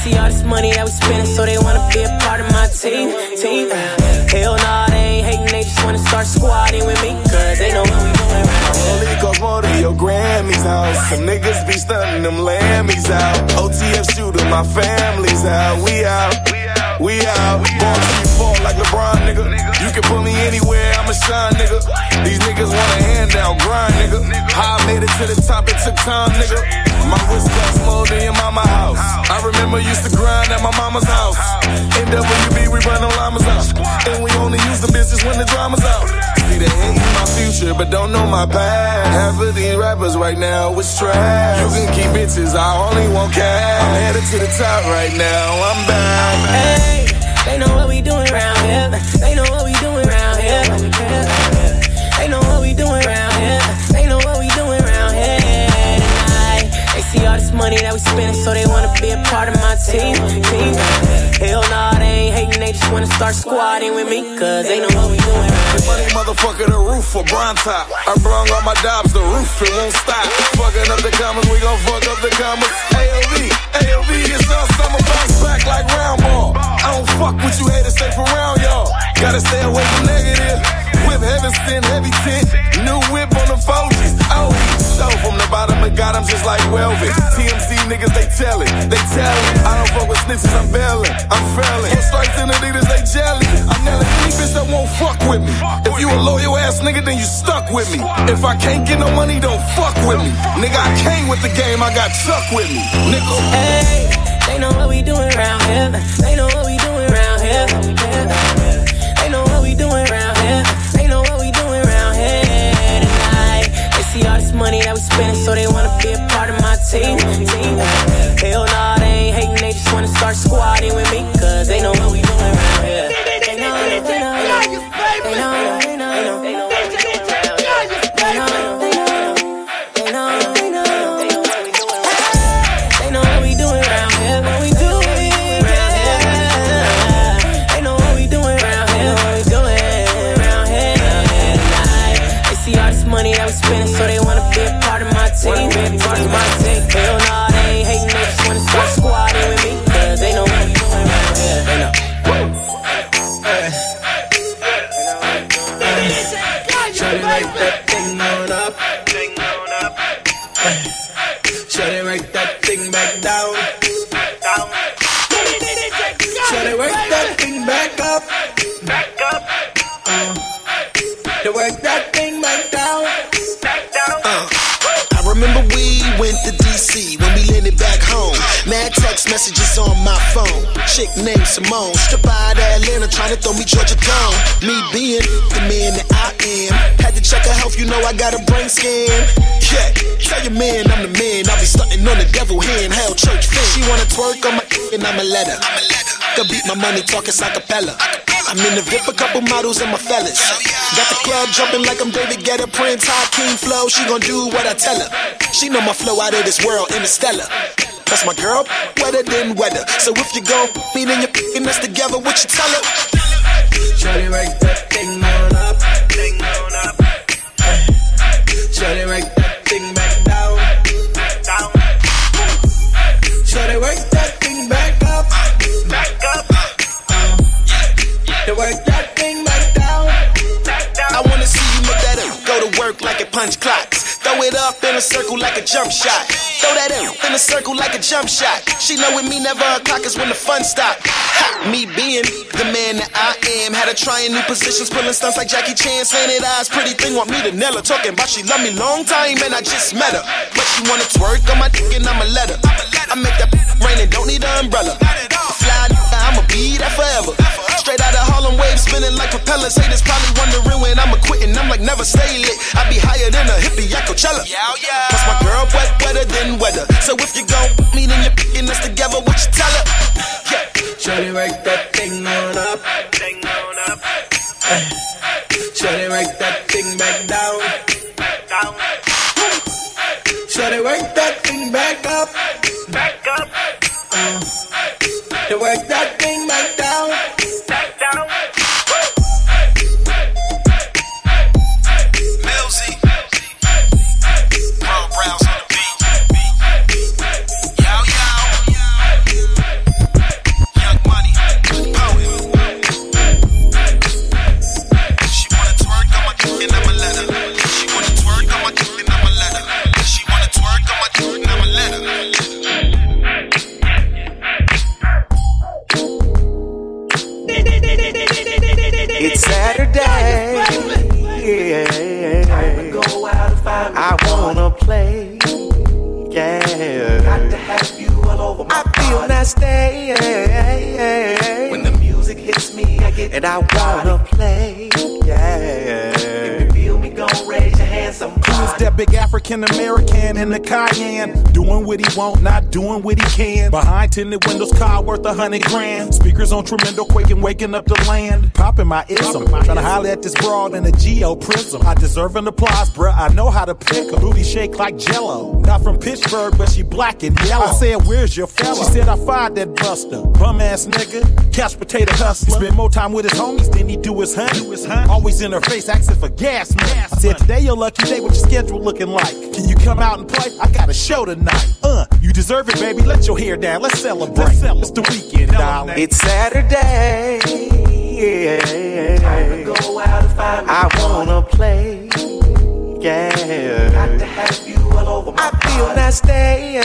see all this money that we spending, so they wanna be a part of my team. Team. Hell nah, they ain't hating, they just wanna start squatting with me, cause they know what we doing around here. Only cost more than your Grammy's house. Some niggas be stunting them Lambys out. O T F shooter, my family's out. We out, we out. Born to be fall like LeBron, nigga. You can put me anywhere, I'ma shine, nigga. These niggas want a handout, grind, nigga. How I made it to the top, it took time, nigga. My wrist cost more than your mama house. I remember used to grind at my mama's house. N W B, we run them llamas out. And we only use the business when the drama's out. See, they hate my future, but don't know my past. Half of these rappers right now is trash. You can keep bitches, I only want cash. I'm headed to the top right now, I'm back. Hey, they know what we doing around here. They know what we doing around here. They know what we doing around here. They know what we doing around here tonight. They see all this money that we spending, so they wanna be a part of my team. Team. Hell nah, they ain't hating, they just wanna start squatting with me, cause they know what we doing around here. Money motherfucker, the roof for Bron top. I brung all my dobs, the roof, it won't stop. Fucking up the commas, we gon' fuck up the commas. A O V, A O V, it's all summer, bounce back like round ball. I don't fuck with you haters, stay for round, y'all. Gotta stay away from negative. Whip heaven sent, heavy tint. New whip on the Fogies. Oh, so from the bottom of God, I'm just like velvet. T M Z niggas, they tell it, they tell it. I don't fuck with snitches, I'm bailing, I'm failing. Four strikes in the leaders, they jelly. I'm nailing any bitch that won't fuck with me. If you a loyal ass nigga, then you stuck with me. If I can't get no money, don't fuck with me. Nigga, I came with the game, I got Chuck with me. Nigga. Hey, they know what we doing around here. They know what we doing around here. They know what we doing around here. They know what we doing around here tonight. They see all this money that we spending, so they wanna be a part of my team. Team. Hell nah, they ain't hating, they just wanna start squatting with me, cause they know what we doing around here. They know, they know, they know, they know, they know, they know, they know. Spinning, so they wanna be a part of my team. Be a part of my team. Hell nah, they ain't hating, they just wanna start squatting with me, cause they know what we doing around here. They know. Shawty write that thing on up. Shawty write that thing back down. Shawty work that thing back up. Back up. Uh, to work that thing back down. Uh, I remember we went to D C when we landed back home. Mad text messages on my phone. Chick named Simone, strip out of Atlanta, trying to throw me Georgia down. Me being the man that I am, had to check her health, you know I got a brain scan. Yeah, tell your man I'm the man. I be stunting on the devil hand, hell church fan. She wanna twerk on my and I'ma let her. Could beat my money talking acapella. I'm in the V I P, a couple models and my fellas. Got the club jumping like I'm David Guetta, Prince, High King Flow. She gon' do what I tell her. She know my flow out of this world, interstellar. That's my girl, wetter than weather. So if you gon' me, then you're picking us together. What you tell her? Shawty write that thing on up. Thing on up. Shawty write that thing back down. Down. Shawty work that thing back up. Back up. Uh, to work that thing back down. Back down. I wanna see you make that up. Go to work like it punch clocks. Throw it up in a circle like a jump shot. Throw that in, in a circle like a jump shot. She know with me never a clock is when the fun stop. Ha, me being the man that I am. Had her trying new positions, pulling stunts like Jackie Chan. Slanted eyes, pretty thing, want me to nail her. Talking about she love me long time and I just met her. But she wanna twerk on my dick and I'ma let her. I make that rain and don't need an umbrella. Fly, I'ma be that forever. Straight out of Harlem waves, spinning like propellers. Haters probably wondering when I'ma quit and I'm like never stay lit. I be higher than a hippie at Coachella. Cause my girl wet, wetter than weather. So if you gon' me, then you're picking us together. What you tell her? Yeah. Shawty work that thing on up. Thing on up. Shawty work that thing back down. Back down. Shawty work that thing back up. Back up. Uh, to work that thing back down. Back down. Millsy. Ron Browns on the beat. Yow, yow. not stay. When the music hits me, I get and I wanna play. Yeah. If you feel me, gon' raise your hand. Somebody. Who is that big African American in the Cayenne? Doing what he want, not doing what he can. Behind tinted windows, car worth a hundred grand. Speakers on tremendo, quaking, waking up the land. Popping my ism, trying to holler at this broad in a geo prism. I deserve an applause, bruh. I know how to pick a booty shake like Jello. Not from Pittsburgh, but she black and yellow. I said, where's your fella? She said, I fired that buster. Bum ass nigga, couch potato hustler. Spend more time with his homies than he do his honey. Always in her face, asking for gas money. I said, today your lucky day, what your schedule looking like? Can you come out and play? I got a show tonight. Uh, you deserve it, baby. Let your hair down. Let's celebrate. Let's celebrate. It's the weekend, darling. It's Saturday. Yeah. Time to go out and find me. I wanna play. Yeah. Got to have you all over my I feel that stay.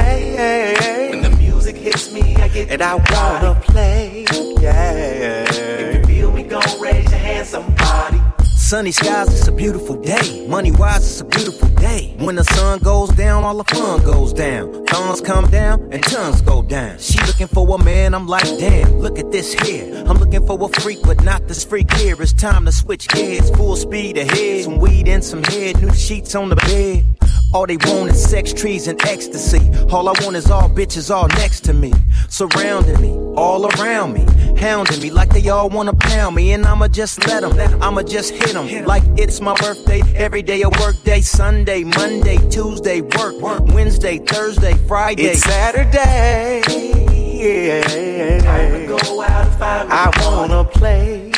When the music hits me, I get and I wanna play. Yeah. If you feel me, gon' raise your hand, somebody. Sunny skies, it's a beautiful day. Money wise, it's a beautiful day. When the sun goes down, all the fun goes down. Thorns come down and tongues go down. She looking for a man, I'm like, damn, look at this here. I'm looking for a freak, but not this freak here. It's time to switch gears, full speed ahead. Some weed and some head, new sheets on the bed. All they want is sex, trees, and ecstasy. All I want is all bitches all next to me. Surrounding me, all around me. Hounding me like they all wanna pound me. And I'ma just let them, I'ma just hit them. Like it's my birthday, every day a work day. Sunday, Monday, Tuesday, work. Wednesday, Thursday, Friday. It's Saturday. Yeah. Time to go out and find me. I wanna play.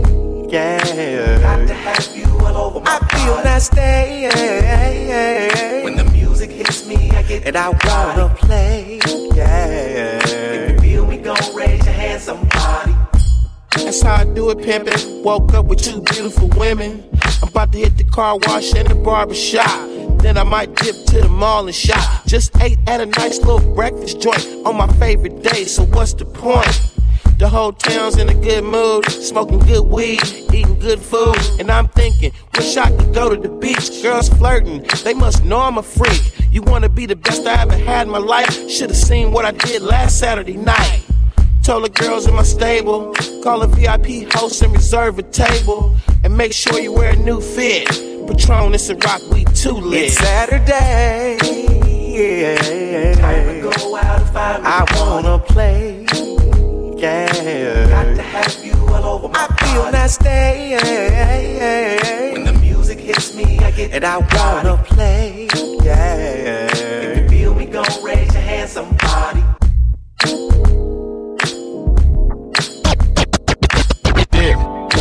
Yeah. Got to have you all over my I feel that stay. When the music hits me, I get and I wanna play. Yeah. If you feel me, gon' raise your hand, somebody. That's how I do it, pimpin'. Woke up with two beautiful women. I'm about to hit the car wash and the barber shop. Then I might dip to the mall and shop. Just ate at a nice little breakfast joint on my favorite day, so what's the point? The whole town's in a good mood, smoking good weed, eating good food. And I'm thinking, wish I could go to the beach. Girls flirting, they must know I'm a freak. You wanna be the best I ever had in my life? Should've seen what I did last Saturday night. Told the girls in my stable, call a V I P host and reserve a table. And make sure you wear a new fit. Patron, it's a rock, we too lit. It's Saturday. Yeah. Time to go out and find me. I wanna play. Yeah. Got to have you all over my I feel that stay. When the music hits me, I get and I wanna play. Yeah. If you feel me, gon' raise your hand, somebody. Yeah.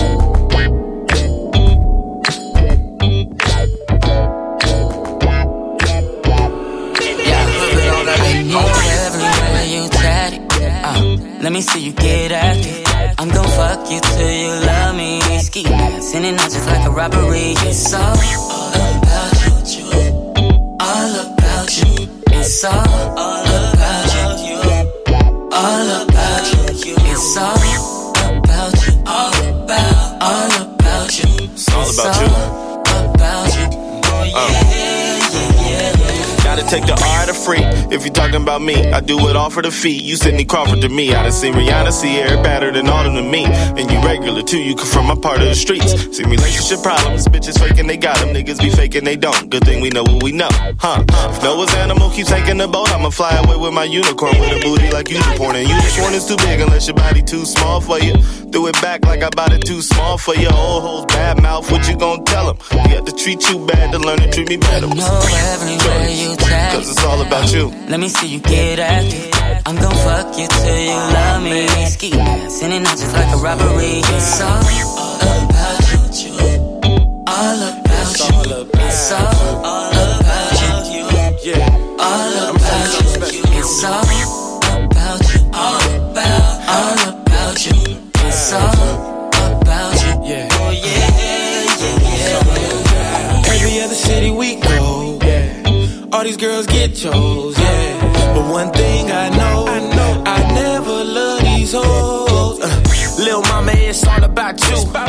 Let me see you get active. I'm gon' fuck you till you love me. Ski dancing and not just like a robbery. It's all about you, all about you. It's all about you, all about you. It's all about you, all about, all about you. It's all about you. About you. Oh yeah, yeah, yeah, yeah. Gotta take the R to free. If you talking about me, I do it all for the fee. You Sidney Crawford to me. I done seen Rihanna, Sierra, better than all of them to me. And you regular too, you come from my part of the streets. See relationship problems, bitches faking they got them. Niggas be faking they don't. Good thing we know what we know, huh? If Noah's animal keeps taking the boat, I'ma fly away with my unicorn with a booty like unicorn. And you just one is too big unless your body too small for you. Threw it back like I bought it too small for you. Old hoes bad mouth, what you gon' tell them? You have to treat you bad to learn to treat me better. I know everywhere you tag. Cause it's all about you. Let me see you get active. I'm gon' fuck you till you love me. Ski dancing and not just like a robbery. It's all about you, all about you. It's all about you, all about you. It's all about you, all about, all about you. It's all about you. Yeah. Oh yeah, yeah, yeah. Every other city we go, all these girls get chose, yeah. But one thing I know, I know, I never love these hoes. Uh, Lil' mama, it's all about you. Before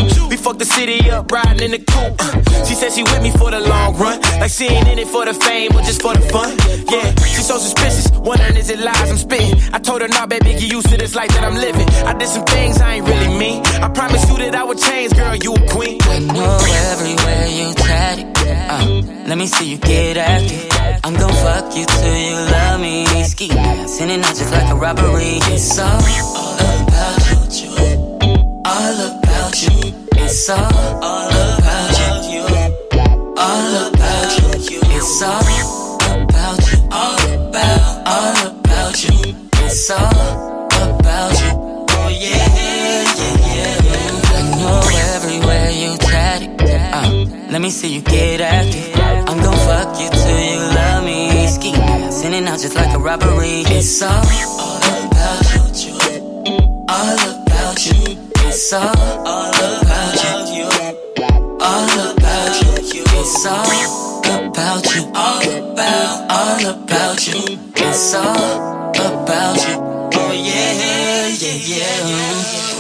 fuck the city up, riding in the coupe. Uh, she said she with me for the long run, like she ain't in it for the fame or just for the fun. Yeah, she's so suspicious, wondering is it lies I'm spitting. I told her, nah, baby, get used to this life that I'm living. I did some things I ain't really mean. I promise you that I would change, girl, you a queen. I know everywhere you tatted. Uh, let me see you get active. I'm gon' fuck you till you love me. Ski mask, in and out just like a robbery. It's all about you, all about you. It's all about you, all about you. It's all about you, all about, all about you. It's all about you. Oh yeah, yeah, yeah. I know everywhere you tatted. Uh, let me see you get active. I'm gon' fuck you till you love me. Ski mask, in and out just like a robbery. It's all about you, all about you. It's all about you, all about you. It's all about you, all about, all about you. It's all about you. Oh yeah, yeah, yeah.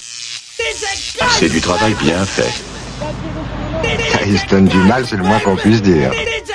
C'est du travail bien fait. Il se donne du mal, c'est le moins qu'on puisse dire.